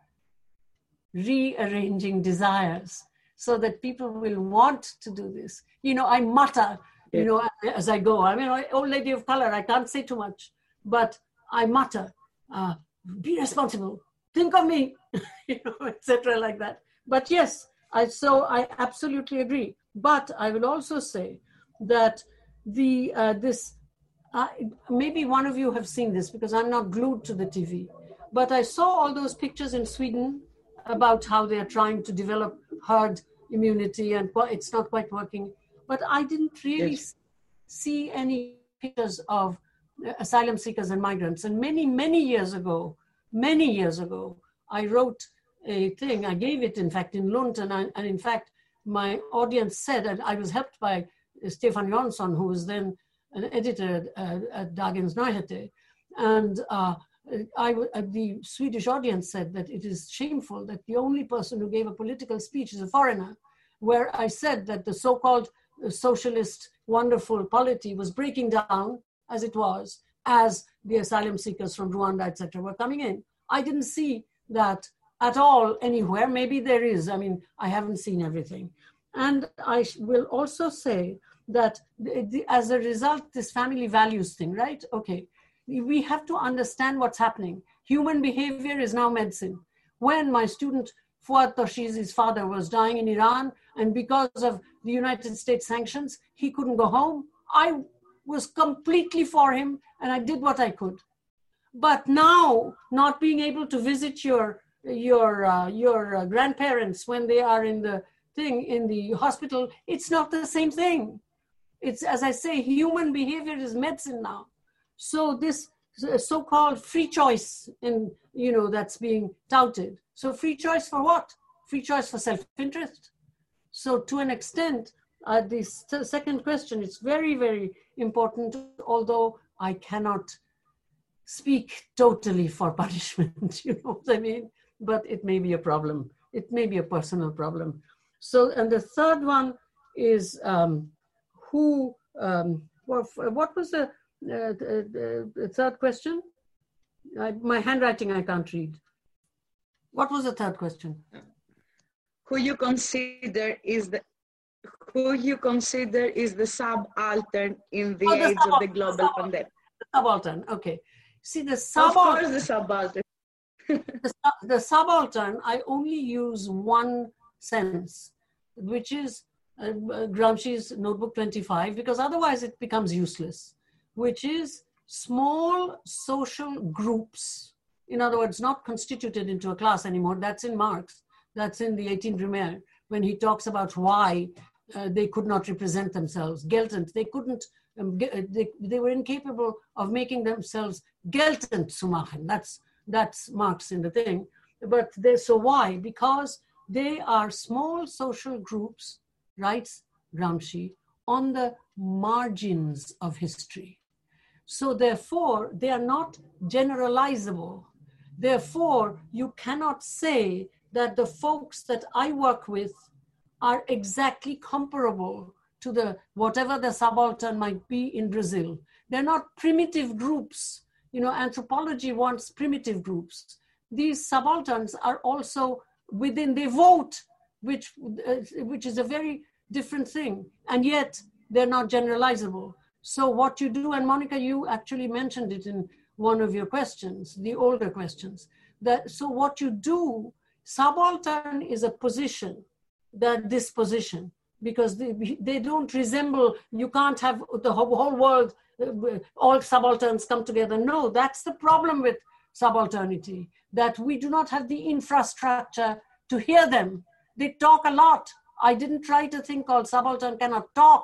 rearranging desires so that people will want to do this. You know, I mutter, you know, as I go. I mean, old lady of color, I can't say too much, but I mutter, uh, be responsible, think of me, you know, et cetera like that. But yes, I, so I absolutely agree. But I will also say that the uh, this, uh, maybe one of you have seen this because I'm not glued to the T V, but I saw all those pictures in Sweden about how they're trying to develop herd immunity and it's not quite working. But I didn't really yes. see any pictures of asylum seekers and migrants. And many, many years ago, many years ago, I wrote a thing. I gave it, in fact, in Lund. And, I, and in fact, my audience said, and I was helped by Stefan Jansson, who was then an editor at, at Dagens Nyheter. And uh, I, uh, the Swedish audience said that it is shameful that the only person who gave a political speech is a foreigner, where I said that the so-called socialist, wonderful polity was breaking down as it was, as the asylum seekers from Rwanda, et cetera, were coming in. I didn't see that at all anywhere. Maybe there is. I mean, I haven't seen everything. And I will also say that the, the, as a result, this family values thing, right? Okay, we have to understand what's happening. Human behavior is now medicine. When my student Fuad Toshizi's father was dying in Iran, and because of the United States sanctions, he couldn't go home, I was completely for him, and I did what I could. But now, not being able to visit your your uh, your uh, grandparents when they are in the thing in the hospital, it's not the same thing. It's, as I say, human behavior is medicine now. So this so-called free choice, in you know, that's being touted. So free choice for what? Free choice for self-interest. So to an extent, uh, this second question is very, very important, although I cannot speak totally for punishment, you know what I mean? But it may be a problem. It may be a personal problem. So, and the third one is um, who, um, what, what was the, uh, the, the third question? I, my handwriting I can't read. What was the third question? Who you consider is the who you consider is the subaltern in the oh, the age of the global pandemic? The subaltern, okay. See, the subaltern. Of course, the subaltern. the, the subaltern, I only use one sense, which is uh, Gramsci's Notebook twenty-five, because otherwise it becomes useless, which is small social groups. In other words, not constituted into a class anymore. That's in Marx. That's in the eighteenth Brumaire, when he talks about why uh, they could not represent themselves. Geltend, they couldn't, um, they, they were incapable of making themselves geltend zu machen. That's, that's Marx in the thing. But they, so why? Because they are small social groups, writes Gramsci, on the margins of history. So therefore, they are not generalizable. Therefore, you cannot say that the folks that I work with are exactly comparable to the whatever the subaltern might be in Brazil. They're not primitive groups, You know, anthropology wants primitive groups. These subalterns are also within, they vote, which, uh, which is a very different thing. And yet they're not generalizable. So what you do, and Monica, you actually mentioned it in one of your questions, the older questions, that so what you do, subaltern is a position, that disposition, because they, they don't resemble, you can't have the whole, whole world, all subalterns come together. No, that's the problem with subalternity, that we do not have the infrastructure to hear them. They talk a lot. I didn't write a thing called Subaltern Cannot Talk.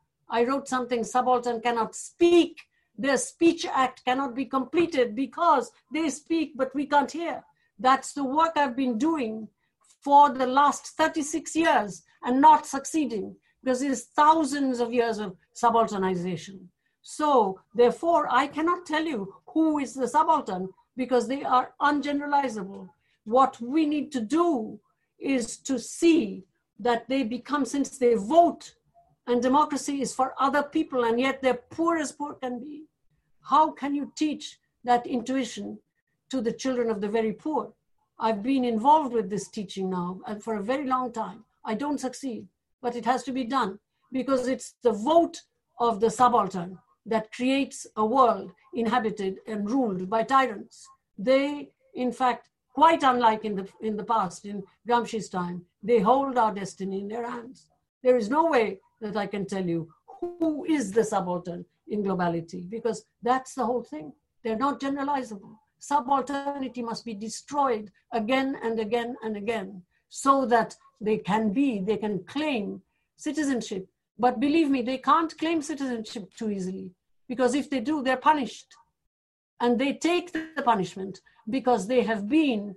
I wrote something, Subaltern Cannot Speak. Their speech act cannot be completed because they speak, but we can't hear. That's the work I've been doing for the last thirty-six years and not succeeding, because there's thousands of years of subalternization. So therefore, I cannot tell you who is the subaltern because they are ungeneralizable. What we need to do is to see that they become, since they vote, and democracy is for other people, and yet they're poor as poor can be. How can you teach that intuition to the children of the very poor? I've been involved with this teaching now and for a very long time. I don't succeed, but it has to be done because it's the vote of the subaltern that creates a world inhabited and ruled by tyrants. They, in fact, quite unlike in the, in the past, in Gramsci's time, they hold our destiny in their hands. There is no way that I can tell you who is the subaltern in globality, because that's the whole thing. They're not generalizable. Subalternity must be destroyed again and again and again so that they can be, they can claim citizenship. But believe me, they can't claim citizenship too easily, because if they do, they're punished. And they take the punishment because they have been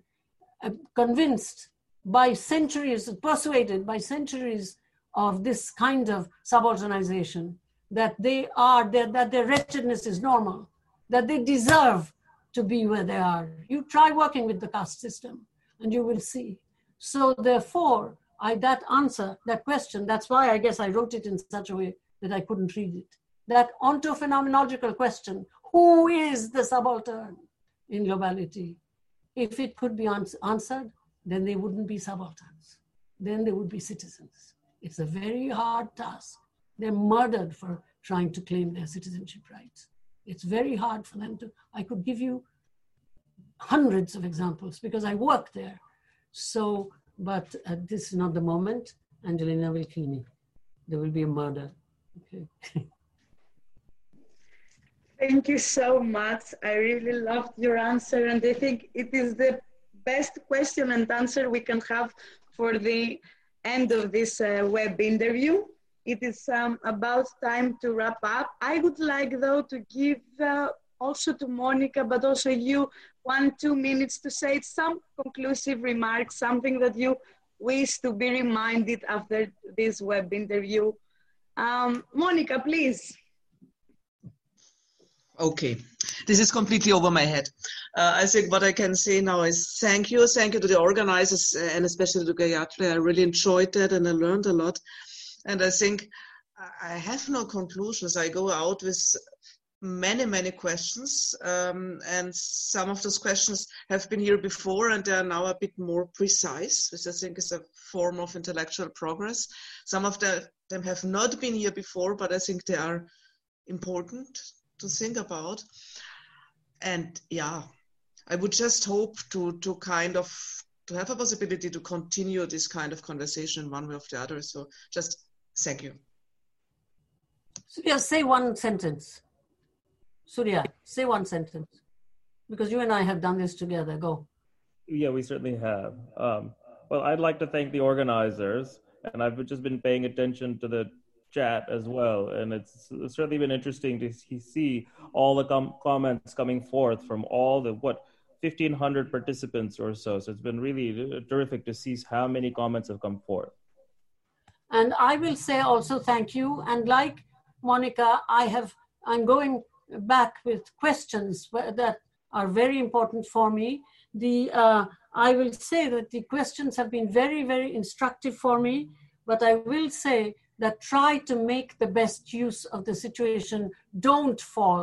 convinced by centuries, persuaded by centuries of this kind of subalternization, that they are, that their wretchedness is normal, that they deserve to be where they are. You try working with the caste system and you will see. So therefore, I, that answer, that question, that's why I guess I wrote it in such a way that I couldn't read it. That ontophenomenological question, who is the subaltern in globality? If it could be ans- answered, then they wouldn't be subalterns. Then they would be citizens. It's a very hard task. They're murdered for trying to claim their citizenship rights. It's very hard for them to, I could give you hundreds of examples because I work there. So, but uh, this is not the moment. Angelina will kill me. There will be a murder. Okay. Thank you so much. I really loved your answer, and I think it is the best question and answer we can have for the end of this uh, web interview. It is um, about time to wrap up. I would like, though, to give uh, also to Monica, but also you, one, two minutes to say some conclusive remarks, something that you wish to be reminded after this web interview. Um, Monica, please. Okay, this is completely over my head. Uh, I think what I can say now is thank you. Thank you to the organizers and especially to Gayatri. I really enjoyed that and I learned a lot. And I think I have no conclusions. I go out with many, many questions. Um, and some of those questions have been here before and they are now a bit more precise, which I think is a form of intellectual progress. Some of the, them have not been here before, but I think they are important to think about. And yeah, I would just hope to to kind of to have a possibility to continue this kind of conversation in one way or the other. So just thank you. Surya, say one sentence. Surya, say one sentence. Because you and I have done this together. Go. Yeah, we certainly have. Um, well, I'd like to thank the organizers, and I've just been paying attention to the chat as well, and it's certainly been interesting to see all the com- comments coming forth from all the what fifteen hundred participants or so. So it's been really terrific to see how many comments have come forth. And I will say also thank you. And like Monica, I have I'm going back with questions that are very important for me. The uh, I will say that the questions have been very, very instructive for me. But I will say that try to make the best use of the situation. Don't fall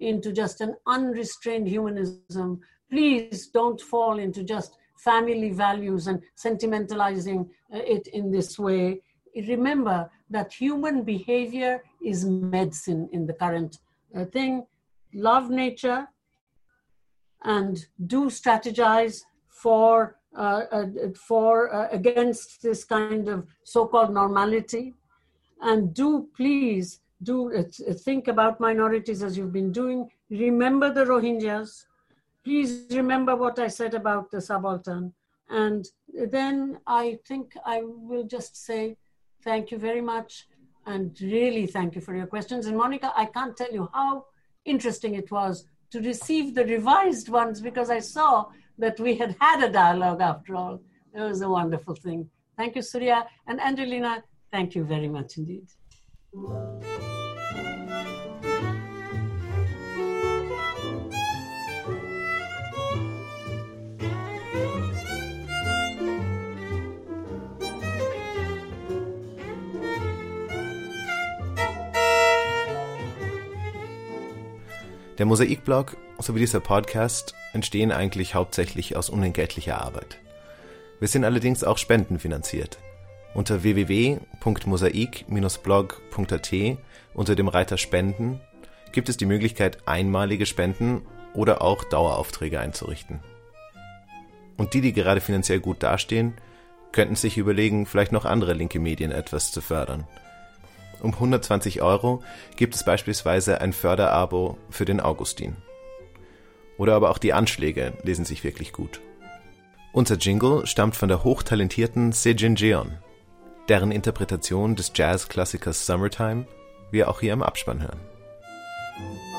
into just an unrestrained humanism. Please don't fall into just family values and sentimentalizing it in this way. Remember that human behavior is medicine in the current uh, thing. Love nature and do strategize for uh, uh, for uh, against this kind of so-called normality, and do please do uh, think about minorities as you've been doing. Remember the Rohingyas. Please remember what I said about the subaltern. And then I think I will just say thank you very much, and really thank you for your questions. And Monica, I can't tell you how interesting it was to receive the revised ones, because I saw that we had had a dialogue after all. It was a wonderful thing. Thank you, Surya. And Angelina, thank you very much indeed. Der Mosaikblog sowie dieser Podcast entstehen eigentlich hauptsächlich aus unentgeltlicher Arbeit. Wir sind allerdings auch spendenfinanziert. Unter w w w punkt mosaik Bindestrich blog punkt a t unter dem Reiter Spenden gibt es die Möglichkeit, einmalige Spenden oder auch Daueraufträge einzurichten. Und die, die gerade finanziell gut dastehen, könnten sich überlegen, vielleicht noch andere linke Medien etwas zu fördern. Um hundertzwanzig Euro gibt es beispielsweise ein Förderabo für den Augustin. Oder aber auch die Anschläge lesen sich wirklich gut. Unser Jingle stammt von der hochtalentierten Sejin Jeon, deren Interpretation des Jazzklassikers Summertime wir auch hier im Abspann hören.